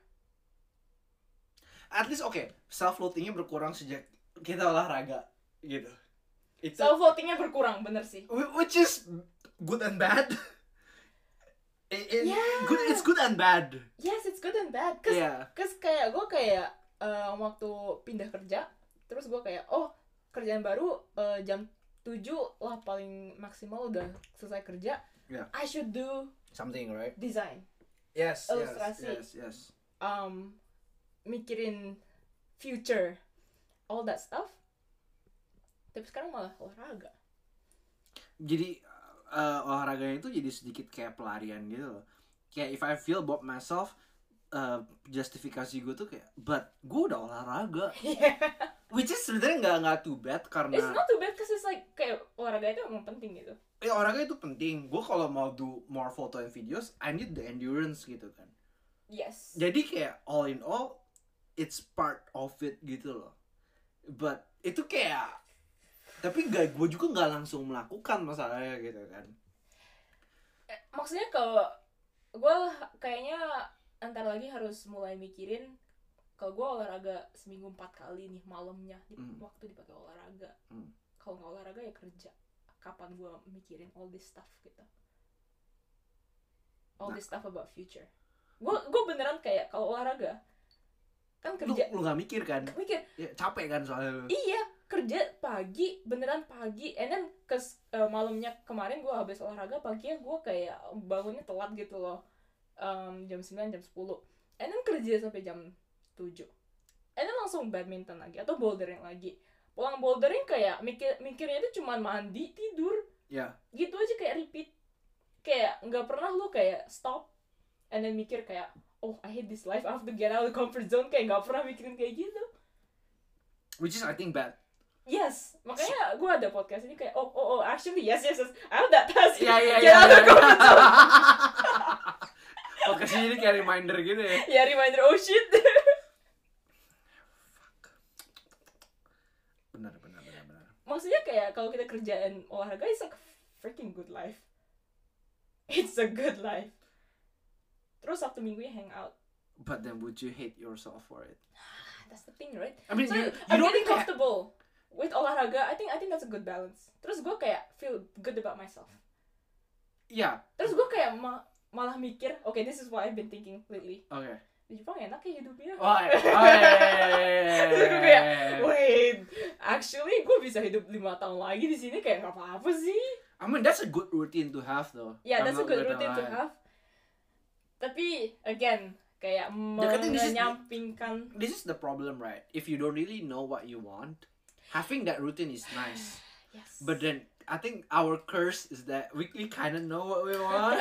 At least oke, okay, self loathingnya berkurang sejak kita olahraga gitu. Itu Self votingnya berkurang, bener sih. whi- which is good and bad. It, it, Yeah. good, it's good and bad. Yes, it's good and bad. Cause, Yeah. cause kayak gue kayak uh, waktu pindah kerja, terus gue kayak oh kerjaan baru uh, jam tujuh lah paling maksimal udah selesai kerja. Yeah. I should do Something, right? design. Yes, yes, Ilustrasi. yes, yes. Um, mikirin future, all that stuff. Tapi sekarang malah olahraga. Jadi uh, olahraganya itu jadi sedikit kayak pelarian gitu loh. Kayak if I feel about myself, uh, justifikasi gue tuh kayak, but gue udah olahraga, Yeah. which is sebenarnya nggak nggak too bad karena It's not too bad because it's like kayak olahraga itu emang penting gitu. ya olahraga itu penting. Gue kalau mau do more photo and videos, I need the endurance gitu kan. Yes. Jadi kayak all in all, it's part of it gitu loh. But itu kayak, tapi gak, gue juga nggak langsung melakukan masalahnya gitu kan. Eh, maksudnya kalau gue kayaknya antar lagi harus mulai mikirin kalau gue olahraga seminggu empat kali nih malamnya di, Hmm. waktu dipakai olahraga. Hmm. Kalau nggak olahraga ya kerja. Kapan gue mikirin all this stuff gitu. All Nah. this stuff about future. Gue gue beneran kayak kalau olahraga kan Lu, kerja lu gak mikir kan? mikir Ya, capek kan soalnya lu. iya kerja pagi beneran pagi and then kes uh, malamnya kemarin gue habis olahraga paginya gue kayak bangunnya telat gitu loh. Um, jam sembilan jam sepuluh and then kerja sampai jam tujuh and then langsung badminton lagi atau bouldering lagi. Pulang bouldering kayak mikir mikirnya itu cuma mandi tidur Ya. gitu aja kayak repeat, kayak nggak pernah lu kayak stop and then mikir kayak oh I hate this life, I have to get out of the comfort zone, kayak nggak pernah mikirin kayak gitu. Which is I think bad. Yes, makanya gue ada podcast ini kayak oh oh oh actually yes yes yes I have that task. Iya iya Get iya. out of the comfort zone. Podcast ini kayak reminder gitu ya. Ya reminder oh shit. Benar benar benar benar. Maksudnya kayak kalau kita kerjaan olahraga it's like a freaking good life. It's a good life. Terus Sabtu minggunya hang out. But then would you hate yourself for it? That's the thing, right? I mean, So you, you I'm don't getting kayak, comfortable with olahraga. I think I think that's a good balance. Terus gue kayak feel good about myself. ya. Terus gue kayak ma- malah mikir, okay, this is what I've been thinking lately. Oke. Di Jepang enak ya hidupnya. Oh, oh, iya. Terus gue kayak, wait, actually gue bisa hidup lima tahun lagi di sini kayak nggak apa-apa sih. I mean that's a good routine to have though. Yeah, I'm that's a not good gonna routine to lie. have. Tapi again, kayak Yeah, I think this is- menyampingkan. This is the problem, right? If you don't really know what you want, having that routine is nice. Yes. But then I think our curse is that we, we kind of know what we want.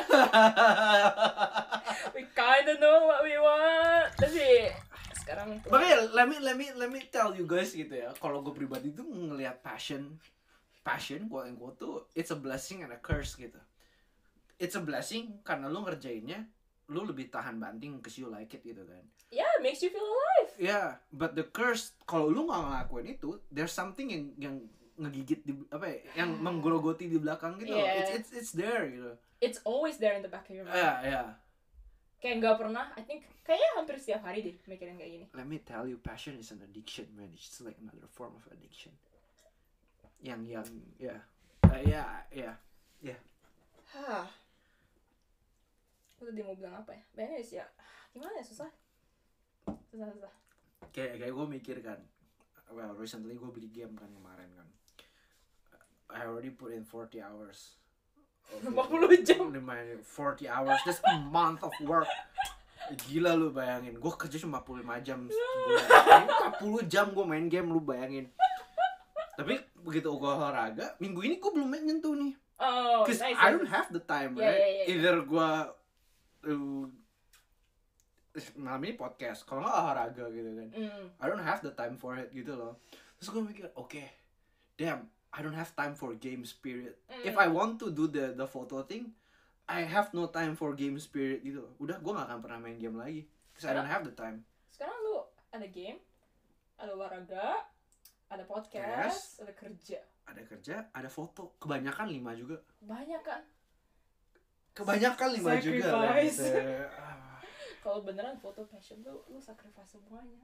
We kinda know what we want. Tapi sekarang Makanya let me let me let me tell you guys gitu ya. Kalau gue pribadi tuh ngelihat passion, passion quote unquote tuh it's a blessing and a curse gitu. It's a blessing karena lu ngerjainnya, lu lebih tahan banting because you like it gitu kan. yeah, it makes you feel alive. Yeah, but the curse kalau lu nggak ngelakuin itu, there's something yang yang ngegigit di apa ya, yang menggerogoti di belakang gitu. loh. Yeah. It's it's it's there gitu. It's always there in the back of your mind. Yeah, yeah. Kayak nggak pernah, I think kayaknya hampir setiap hari deh mikirin kayak gini. Let me tell you, passion is an addiction, man. It's just like another form of addiction. Yang yang ya, uh, ya ya ya. Hah. Aku tadi mau bilang apa ya? Banyak sih ya. Gimana ya, susah. Susah susah. Kayak kayak gue mikir kan, well recently gue beli game kan kemarin kan. I already put in forty hours. lima puluh jam. Lumayan, forty hours, that's a month of work. Gila lu bayangin, gue kerja cuma empat puluh lima jam sebulan. empat puluh jam gue main game, lu bayangin. Tapi begitu gue olahraga, minggu ini gue belum nyentuh nih. Oh, Cause nice. I nice. don't have the time, Yeah, right? yeah, yeah, yeah. Either gue uh, malam ini podcast, kalau nggak olahraga gitu kan. Mm. I don't have the time for it gitu loh. Terus gue mikir, oke, okay, damn, I don't have time for games period. Mm. If I want to do the the photo thing, I have no time for games period gitu loh. Udah, gue gak akan pernah main game lagi. Cause I don't have the time. Sekarang lu ada game, ada olahraga, ada podcast, Yes. ada kerja. Ada kerja, ada foto. Kebanyakan lima juga. Banyak kan? Kebanyakan lima juga. lah, Sacrifice. gitu. Ah. Kalau beneran foto passion tuh lu sacrifice semuanya.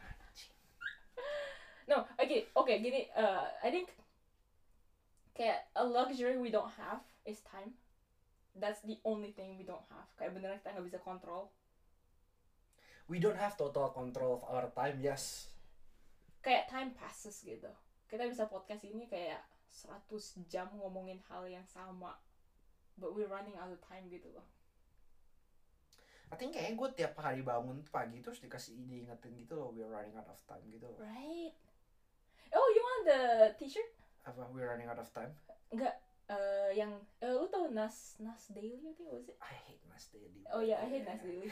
No, oke, okay, oke okay, gini, uh, I think kayak a luxury we don't have is time. That's the only thing we don't have. Kayak beneran kita nggak bisa kontrol. We don't have total control of our time, yes. Kayak time passes gitu. Kita bisa podcast ini kayak seratus jam ngomongin hal yang sama. But we're running out of time gitu loh. I think kayaknya gue tiap hari bangun pagi terus dikasih ide ingetin gitu loh, we're running out of time gitu loh. Right. Oh, you want the t-shirt? Apa, we're running out of time? Enggak. eh yang eh, lu tau Nas Nas Daily I think was it? I hate Nas Daily. Oh ya, I hate Nas Daily.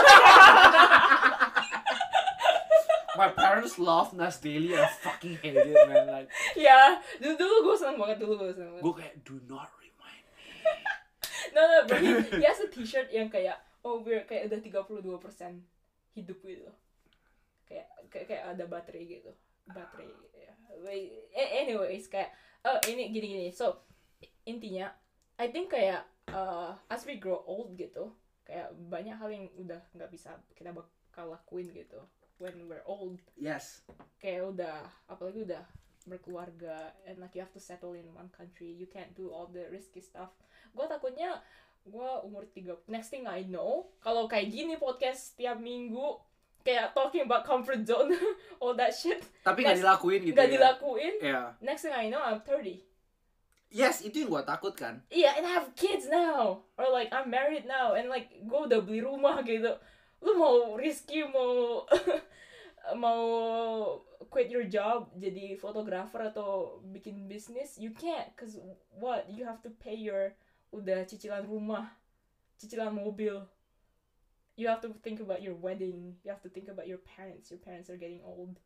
My parents love Nas Daily, I fucking hate it, man. Like, Ya, dulu dulu gue seneng banget dulu gue seneng banget. gue kayak do not remind me. No no, but he, he has a t-shirt yang kayak oh we're kayak udah tiga puluh dua persen hidup gitu. Kayak kayak, kayak ada baterai gitu. Baterai ya. Wait, anyways kayak oh ini gini-gini. So intinya I think kayak uh, as we grow old gitu, kayak banyak hal yang udah nggak bisa kita bakal lakuin gitu when we're old. Yes. Kayak udah apalagi udah berkeluarga and like you have to settle in one country, you can't do all the risky stuff. Gue takutnya gue umur tiga next thing I know kalau kayak gini podcast tiap minggu kayak talking about comfort zone all that shit Tapi nggak dilakuin gitu. nggak ya? dilakuin. Yeah. Next thing I know I'm thirty. Yes, itu yang gue takut kan. Iya, yeah, and I have kids now or like I'm married now and like gue udah beli rumah gitu. Lu mau risky mau mau quit your job jadi fotografer atau bikin bisnis, you can't cause what you have to pay your udah cicilan rumah, cicilan mobil, you have to think about your wedding, you have to think about your parents, your parents are getting old.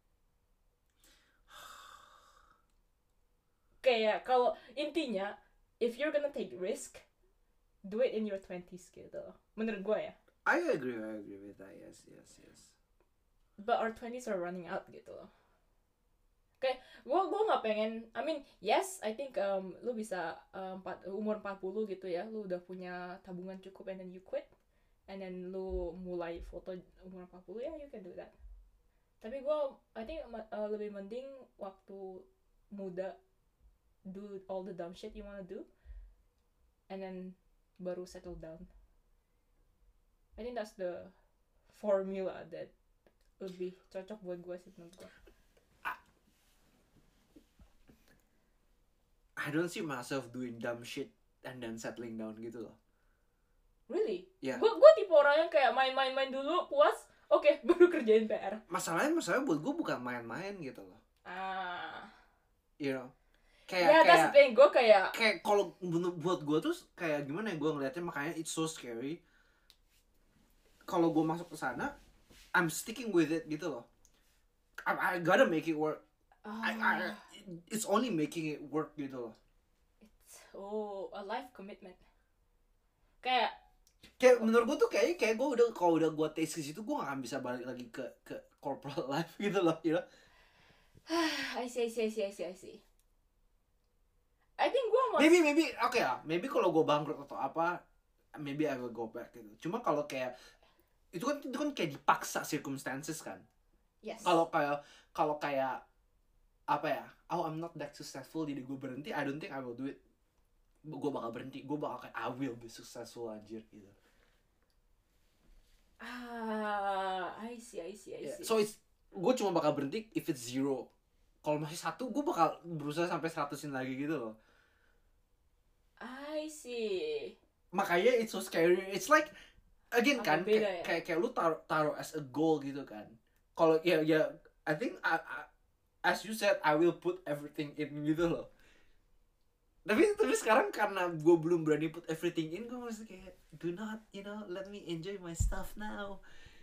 Kayak kalau intinya if you're gonna take risk, do it in your twenties gitu menurut gue ya. I agree, I agree with that. Yes, yes, yes. But our twenties are running out gitu loh. Kayak gue gue nggak pengen. I mean yes, I think um, lu bisa um, empat, umur empat puluh gitu ya, lu udah punya tabungan cukup and then you quit, and then lu mulai foto umur empat puluh ya, yeah, you can do that. Tapi gue I think uh, lebih mending waktu muda do all the dumb shit you wanna do, and then baru settle down. I think that's the formula that lebih cocok buat gue sih menurut gue. I don't see myself doing dumb shit and then settling down gitu loh. Really? Yeah. Gue gue tipe orang yang kayak main-main-main dulu puas, oke okay, baru kerjain P R. Masalahnya masalahnya buat gue bukan main-main gitu loh. Ah. You know. Ya, Kayak yeah, that's the thing. Gue kayak kayak kalau buat gue tuh kayak gimana ya, gue ngeliatnya makanya it's so scary. Kalau gue masuk ke sana, I'm sticking with it gitu loh. I, I gotta make it work. oh, I, I, it's only making it work gitu loh. it's oh a life commitment. Kayak Kayak menurut gue tuh kayaknya kayak gue udah kalau udah gue taste ke situ gue gak akan bisa balik lagi ke ke corporate life gitu loh, you know. I see, I see, I see, I see, I see. I think gue mau Maybe maybe oke okay lah. Maybe kalau gue bangkrut atau apa, maybe I will go back gitu. Cuma kalau kayak itu kan itu kan kayak dipaksa circumstances kan. yes. Kalau kayak kalau kayak apa ya? Oh, I'm not that successful jadi gue berhenti. I don't think I will do it. Gue bakal berhenti. Gue bakal kayak I will be successful anjir gitu. Ah, I see, I see, I Yeah. see. So it's gue cuma bakal berhenti if it's zero. Kalau masih satu, gue bakal berusaha sampai seratusin lagi gitu loh. I see. Makanya it's so scary. It's like again Agak kan beda kayak, ya? kayak kayak lu taruh taruh as a goal gitu kan. Kalau ya ya I think I, I, as you said I will put everything in gitu loh. Tapi tapi sekarang karena gue belum berani put everything in, gue masih kayak do not you know let me enjoy my stuff now.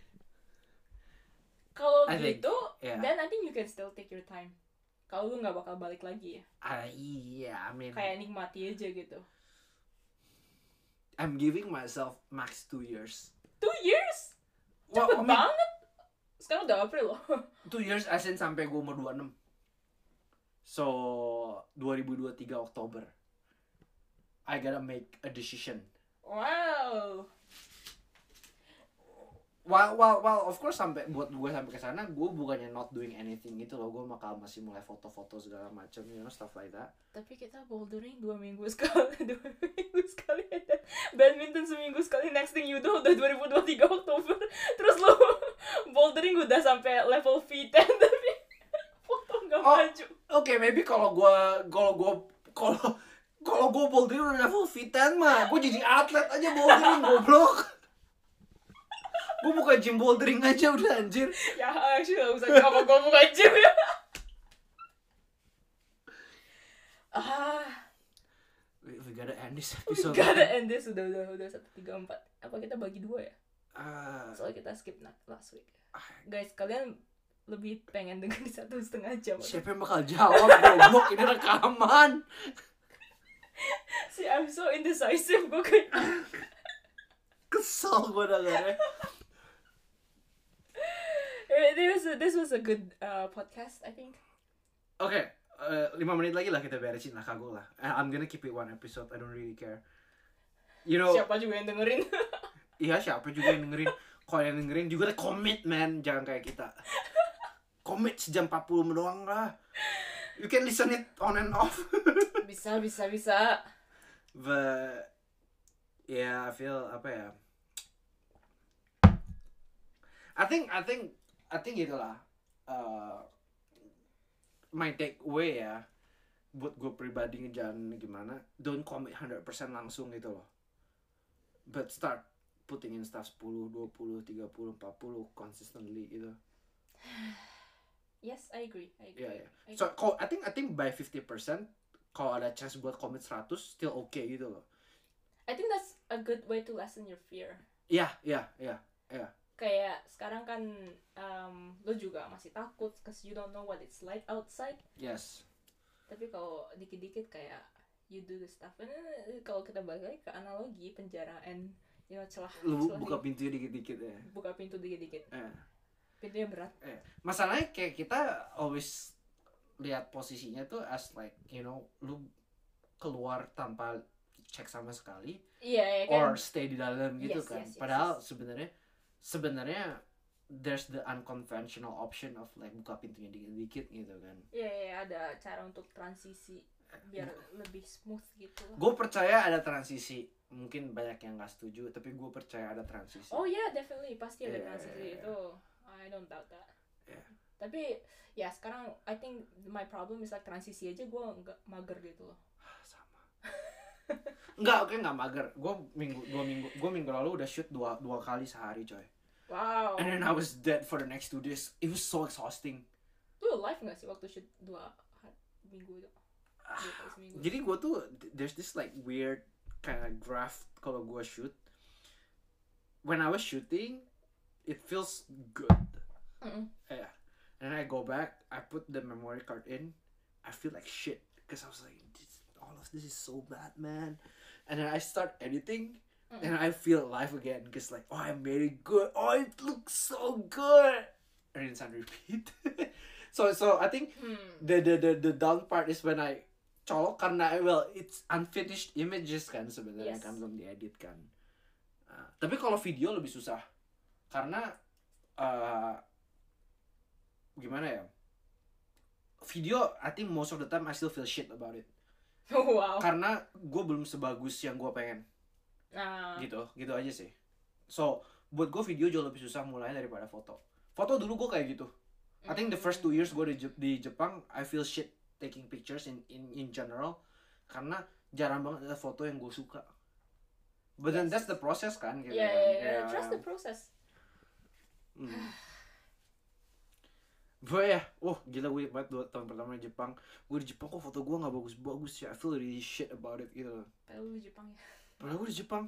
Kalau I think, gitu, yeah. then I think you can still take your time. Kalau lu nggak bakal balik lagi ya. Ah iya, I mean Kayak nikmati aja gitu. I'm giving myself max two years. Two years? Well, Cepet I mean, banget. Sekarang udah April loh. Two years as in sampai gue umur dua puluh enam. So dua ribu dua puluh tiga Oktober I gotta make a decision. Wow. Well, well, well, of course sampai buat gue sampai ke sana gue bukannya not doing anything gitu loh. Gue bakal masih mulai foto-foto segala macam, you know, stuff like that. Tapi kita bouldering dua minggu sekali, dua minggu sekali, dan badminton seminggu sekali. Next thing you know udah dua ribu dua puluh tiga Oktober. Terus lo bouldering udah sampai level V sepuluh tapi foto nggak Oh, maju. Oke, okay, maybe kalau gue kalau gue kalau kalau gue bouldering udah level V sepuluh mah, gue jadi atlet aja bouldering goblok. Gue buka gym bouldering aja udah anjir. Ya actually gak usah sama gue buka gym ya. Ah, we gotta end this We episode. gotta end this. Udah udah udah satu tiga empat. Apa kita bagi dua ya? Uh, Soalnya kita skip na- last week. ah, Guys, kalian lebih pengen dengar di satu setengah jam. siapa yang bakal jawab goblok, ini rekaman. Si I'm so indecisive gue kayak. Kesel gue dengarnya. This was a, this was a good uh, podcast, I think. Oke, okay, uh, lima menit lagi lah kita beresin lah, kagok lah. I'm gonna keep it one episode, I don't really care. You know, Siapa juga yang dengerin? iya siapa juga yang dengerin. Kalau yang dengerin juga commit man, jangan kayak kita. Commit sejam empat puluh doang lah. You can listen it on and off. Bisa, bisa, bisa. But yeah, I feel apa ya? I think I think I think gitulah. Uh, my takeaway ya, buat gue pribadi ngejalan gimana, don't commit one hundred percent langsung gitu loh. But start putting in stuff sepuluh, dua puluh, tiga puluh, empat puluh consistently gitu. Yes, I agree. I agree. Yeah, yeah. I So, kalau I think I think by fifty percent kalau ada chance buat commit seratus still okay gitu loh. I think that's a good way to lessen your fear. Iya, iya, iya, iya. Kayak sekarang kan um, lo juga masih takut cause you don't know what it's like outside. Yes. Tapi kalau dikit-dikit kayak you do the stuff. And eh, kalau kita balik lagi ke analogi penjara and you know celah, Lu celah buka di- pintunya dikit-dikit ya. buka pintu dikit-dikit. Eh. Pintunya berat. Eh, masalahnya kayak kita always lihat posisinya tuh as like, you know, lu keluar tanpa cek sama sekali, Iya ya kan. or stay di dalam gitu Yes, kan. yes, yes, Padahal yes. sebenarnya sebenarnya there's the unconventional option of like buka pintunya dikit-dikit gitu kan. Iya ya ada cara untuk transisi biar lebih smooth gitu lah. Gue percaya ada transisi. Mungkin banyak yang nggak setuju, tapi gue percaya ada transisi. Oh yeah, definitely pasti ada Yeah, transisi yeah, yeah. itu. I don't doubt that. Yeah. Tapi ya sekarang I think my problem is like transisi aja gue nggak mager gitu loh. Sama. Enggak, oke nggak mager. Gue minggu dua minggu gue minggu lalu udah shoot dua dua kali sehari coy. Wow. And then I was dead for the next two days. It was so exhausting. Lu live nggak sih waktu shoot dua hari, minggu itu? Dua kali seminggu. Jadi gue tuh there's this like weird kind of graph kalau gue shoot. When I was shooting, it feels good. Mm-mm. Yeah. And then I go back, I put the memory card in, I feel like shit because I was like, this, all of this is so bad, man. And then I start editing, Mm-mm. and I feel alive again because like, oh, I made it good. Oh, it looks so good. And it's on repeat. so so I think Hmm. the the the the down part is when I colok karena well it's unfinished images kan sebenarnya Yes. kan belum diedit kan. Uh, tapi kalau video lebih susah karena uh, gimana ya? Video I think most of the time I still feel shit about it. Wow. Karena gue belum sebagus yang gue pengen. Nah. Gitu, gitu aja sih. So buat gue video jauh lebih susah mulai daripada foto. Foto dulu gue kayak gitu. I think the first two years gue di, Jep- di Jepang I feel shit taking pictures in in in general karena jarang banget ada foto yang gue suka. But then Yes. that's the process kan gitu Yeah, kan. yeah, yeah. Yeah. Trust the process. Hmm. Gue ya, oh gila gue banget dua tahun pertama di Jepang. Gue di Jepang kok foto gue nggak bagus-bagus ya. I feel really shit about it gitu. Padahal lu di Jepang ya. Padahal gue di Jepang.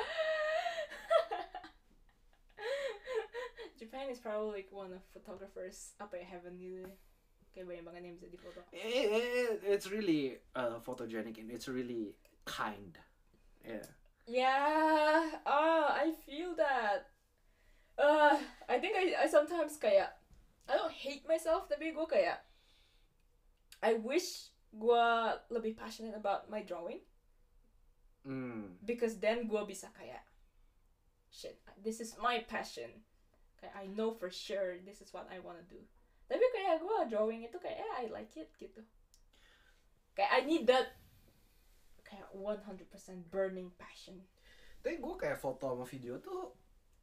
Japan is probably like one of photographers apa ya heaven gitu. Kayak banyak banget yang bisa difoto. It, it, it's really uh, photogenic and it's really kind. Yeah. Yeah, oh, I feel that. Uh, I think I, I sometimes kayak I don't hate myself tapi gue kayak I wish gue lebih passionate about my drawing Hmm. because then gue bisa kayak shit, this is my passion. Kayak I know for sure this is what I wanna do. Tapi kayak gue drawing itu kayak eh, I like it gitu. Kayak I need that kayak one hundred percent burning passion. Tapi gue kayak foto sama video tuh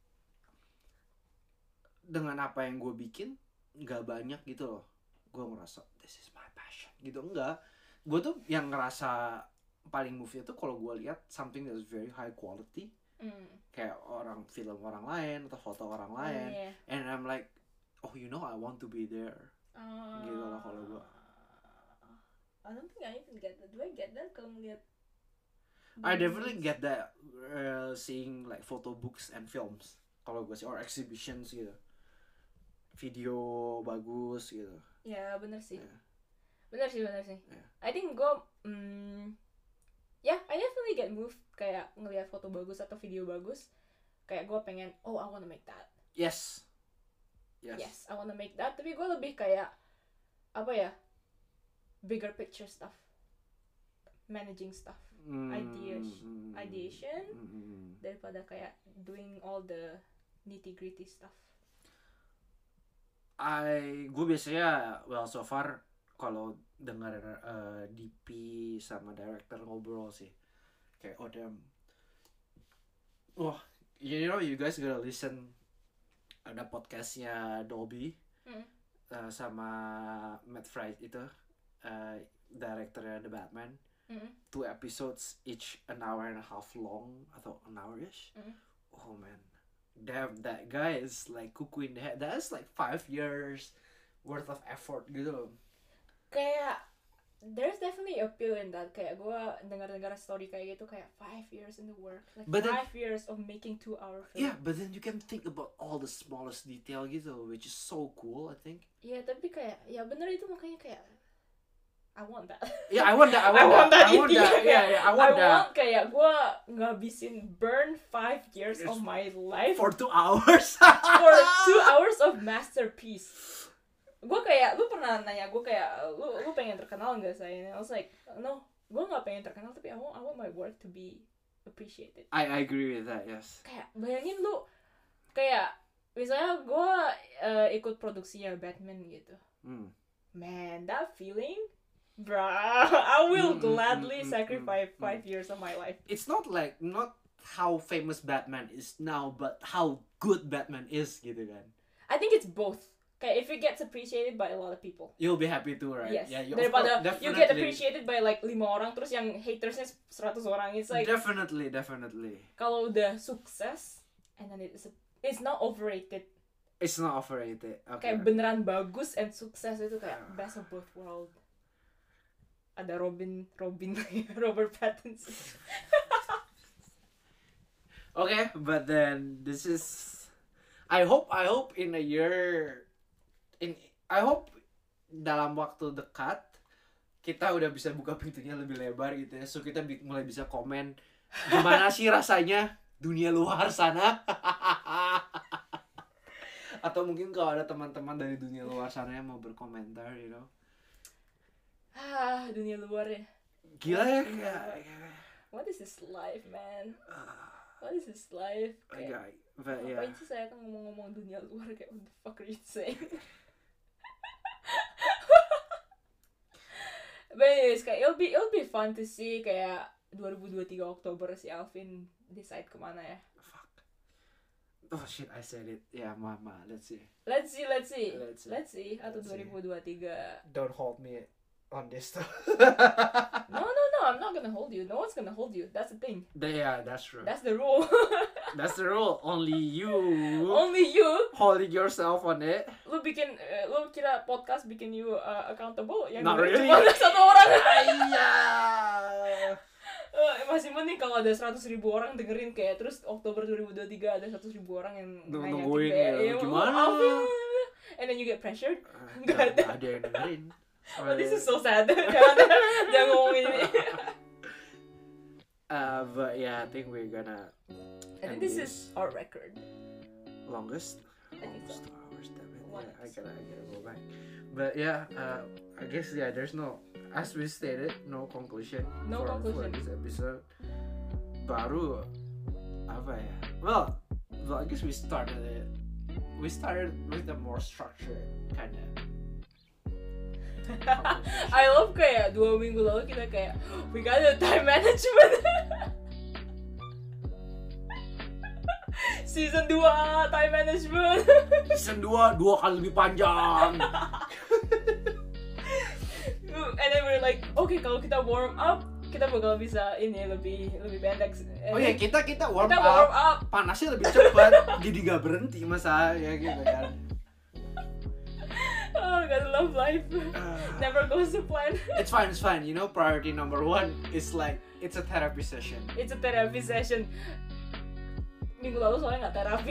dengan apa yang gue bikin nggak banyak gitu loh. Gue ngerasa this is my passion gitu enggak. Gue tuh yang ngerasa paling move itu kalau gue lihat something that's very high quality Mm. kayak orang film orang lain atau foto orang Oh, lain, yeah. and I'm like, oh you know I want to be there. Uh, Gitu lah kalau gua. I don't think I even get that. Do I get that kalau ngeliat I definitely get that uh, seeing like photo books and films kalau gue sih, or exhibitions gitu, video bagus gitu. Ya bener sih. Yeah. Bener sih, bener sih. Yeah. I think gue, mm, ya, yeah, I definitely get moved kayak ngelihat foto bagus atau video bagus. Kayak gue pengen, oh I wanna make that. Yes. Yes. Yes, I wanna make that. Tapi gue lebih kayak, apa ya, bigger picture stuff. Managing stuff. Mm, Ideas, mm, ideation. mm, mm. Daripada kayak doing all the nitty gritty stuff. I gue biasanya well so far kalau dengar uh, D P sama director ngobrol sih kayak oh damn, wah you know you guys gotta listen, ada podcastnya Dolby Mm. uh, sama Matt Fried itu uh, directornya The Batman, Mm. two episodes each an hour and a half long atau an hour-ish. Mm. Oh man, damn, that guy is like cuckoo in the head. That's like five years worth of effort gitu. Kayak there's definitely appeal in that. Kayak gue dengar-dengar story kayak gitu kayak five years in the work, like But then- five years of making two hour film. Yeah, but then you can think about all the smallest detail gitu, which is so cool, I think. Iya, tapi kayak ya bener itu makanya kayak I want that. Yeah, I want that. I want, I want that, that. I want intinya that. Yeah, yeah, I want I that. want kayak gue ngabisin burn five years Yes. of my life For two hours. for two hours of masterpiece. Gue kayak, lu pernah nanya gue kayak, lu lu pengen terkenal nggak saya? I was like, no, gue nggak pengen terkenal tapi I want I want my work to be appreciated. I, I agree with that. Yes. Kayak bayangin lu, kayak misalnya gue uh, ikut produksinya Batman gitu. Mm. Man, that feeling, bruh, I will Mm, mm, gladly mm, mm, sacrifice mm, five years of my life. It's not like not how famous Batman is now, but how good Batman is gitu kan. I think it's both. Kayak if it gets appreciated by a lot of people. You'll be happy too, right? Yes. Yeah, you, Daripada of course, you get definitely. appreciated by like lima orang terus yang hatersnya seratus orang. It's like Definitely, definitely. kalau udah sukses and then it's it's not overrated. It's not overrated. Okay. Kayak beneran bagus and sukses itu kayak best of both world. Ada Robin, Robin, Robert Pattinson. Okay, but then this is. I hope, I hope in a year, in I hope dalam waktu dekat kita udah bisa buka pintunya lebih lebar gitu ya, so kita bi- mulai bisa komen gimana sih rasanya dunia luar sana. Atau mungkin kalau ada teman-teman dari dunia luar sana yang mau berkomentar, you know. Ah, dunia luar ya. Gila ya kayak. What is this life, man? What is this life? Kayak, Kayak, but yeah. ngapain sih saya kan ngomong-ngomong dunia luar kayak what the fuck are you saying? But anyways, kayak it'll be it'll be fun to see kayak dua ribu dua puluh tiga Oktober si Alvin decide kemana ya. Fuck. Oh shit, I said it. Yeah, mama. Let's see. Let's see, let's see, Let's see. let's see. Atau Let's dua ribu dua puluh tiga. Don't hold me on this stuff. No, no, no. I'm not gonna hold you. No one's gonna hold you. That's the thing. Yeah, that's true. That's the rule. That's the rule. Only you Only you. holding yourself on it. Lu bikin, uh, lu kira podcast bikin you uh, accountable? Yang Not dengerin really. cuma satu orang. Iya. Uh, masih mending kalau ada seratus ribu orang dengerin kayak terus Oktober dua ribu dua puluh tiga ada seratus ribu orang yang Nung- nanya nungguin kayak, ya, "Eh, gimana?" oh, Alvin." And then you get pressured. Gak ada yang dengerin. Oh, this is so sad. Jangan, jangan ngomongin ini. Uh, but yeah, I think we're gonna. I think end this is our record. longest. I think so. Almost two hours. Damn it. One Yeah, I gotta, I gotta go back. But yeah, uh, I guess yeah. There's no, as we stated, no conclusion. No for, conclusion. for this episode. Baru apa ya? Well, well, I guess we started it. We started with a more structured kind of. I love kayak dua minggu lalu kita kayak we got a time management. Season dua time management. Season dua dua kali lebih panjang. And then we're like, okay kalau kita warm up kita bakal bisa ini lebih lebih pendek. Oh ya kita kita warm kita up, warm up. panasnya lebih cepat, jadi gak berhenti masa ya gitu kan. Oh, gotta love life Uh, never goes to plan. it's fine, it's fine. You know, priority number one is like it's a therapy session. It's a therapy session. Minggu lalu soalnya nggak terapi.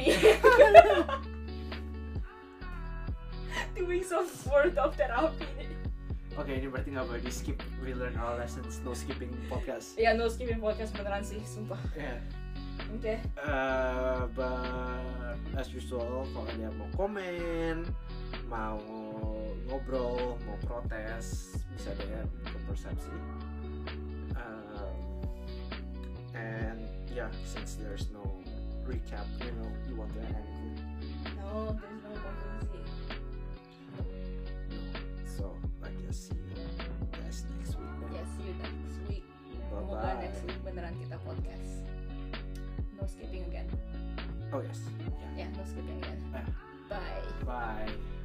Two weeks of worth of therapy. Oke, ini berarti nggak boleh di skip. We learn our lessons. No skipping podcast. Ya, no skipping podcast beneran sih, sumpah. Yeah. Oke. Uh, but as usual, kalau ada yang mau komen, mau ngobrol, mau protes, bisa D M ke Persepsi. Uh, and yeah, since there's no recap, you know, you want to add anything? No, there's no conclusion. So I guess see you guys next week. Then. Yeah, see you next week. Semoga Bye-bye. next week beneran kita podcast. No skipping again. Oh yes. Yeah. Yeah, no skipping again. Ah. Bye. Bye.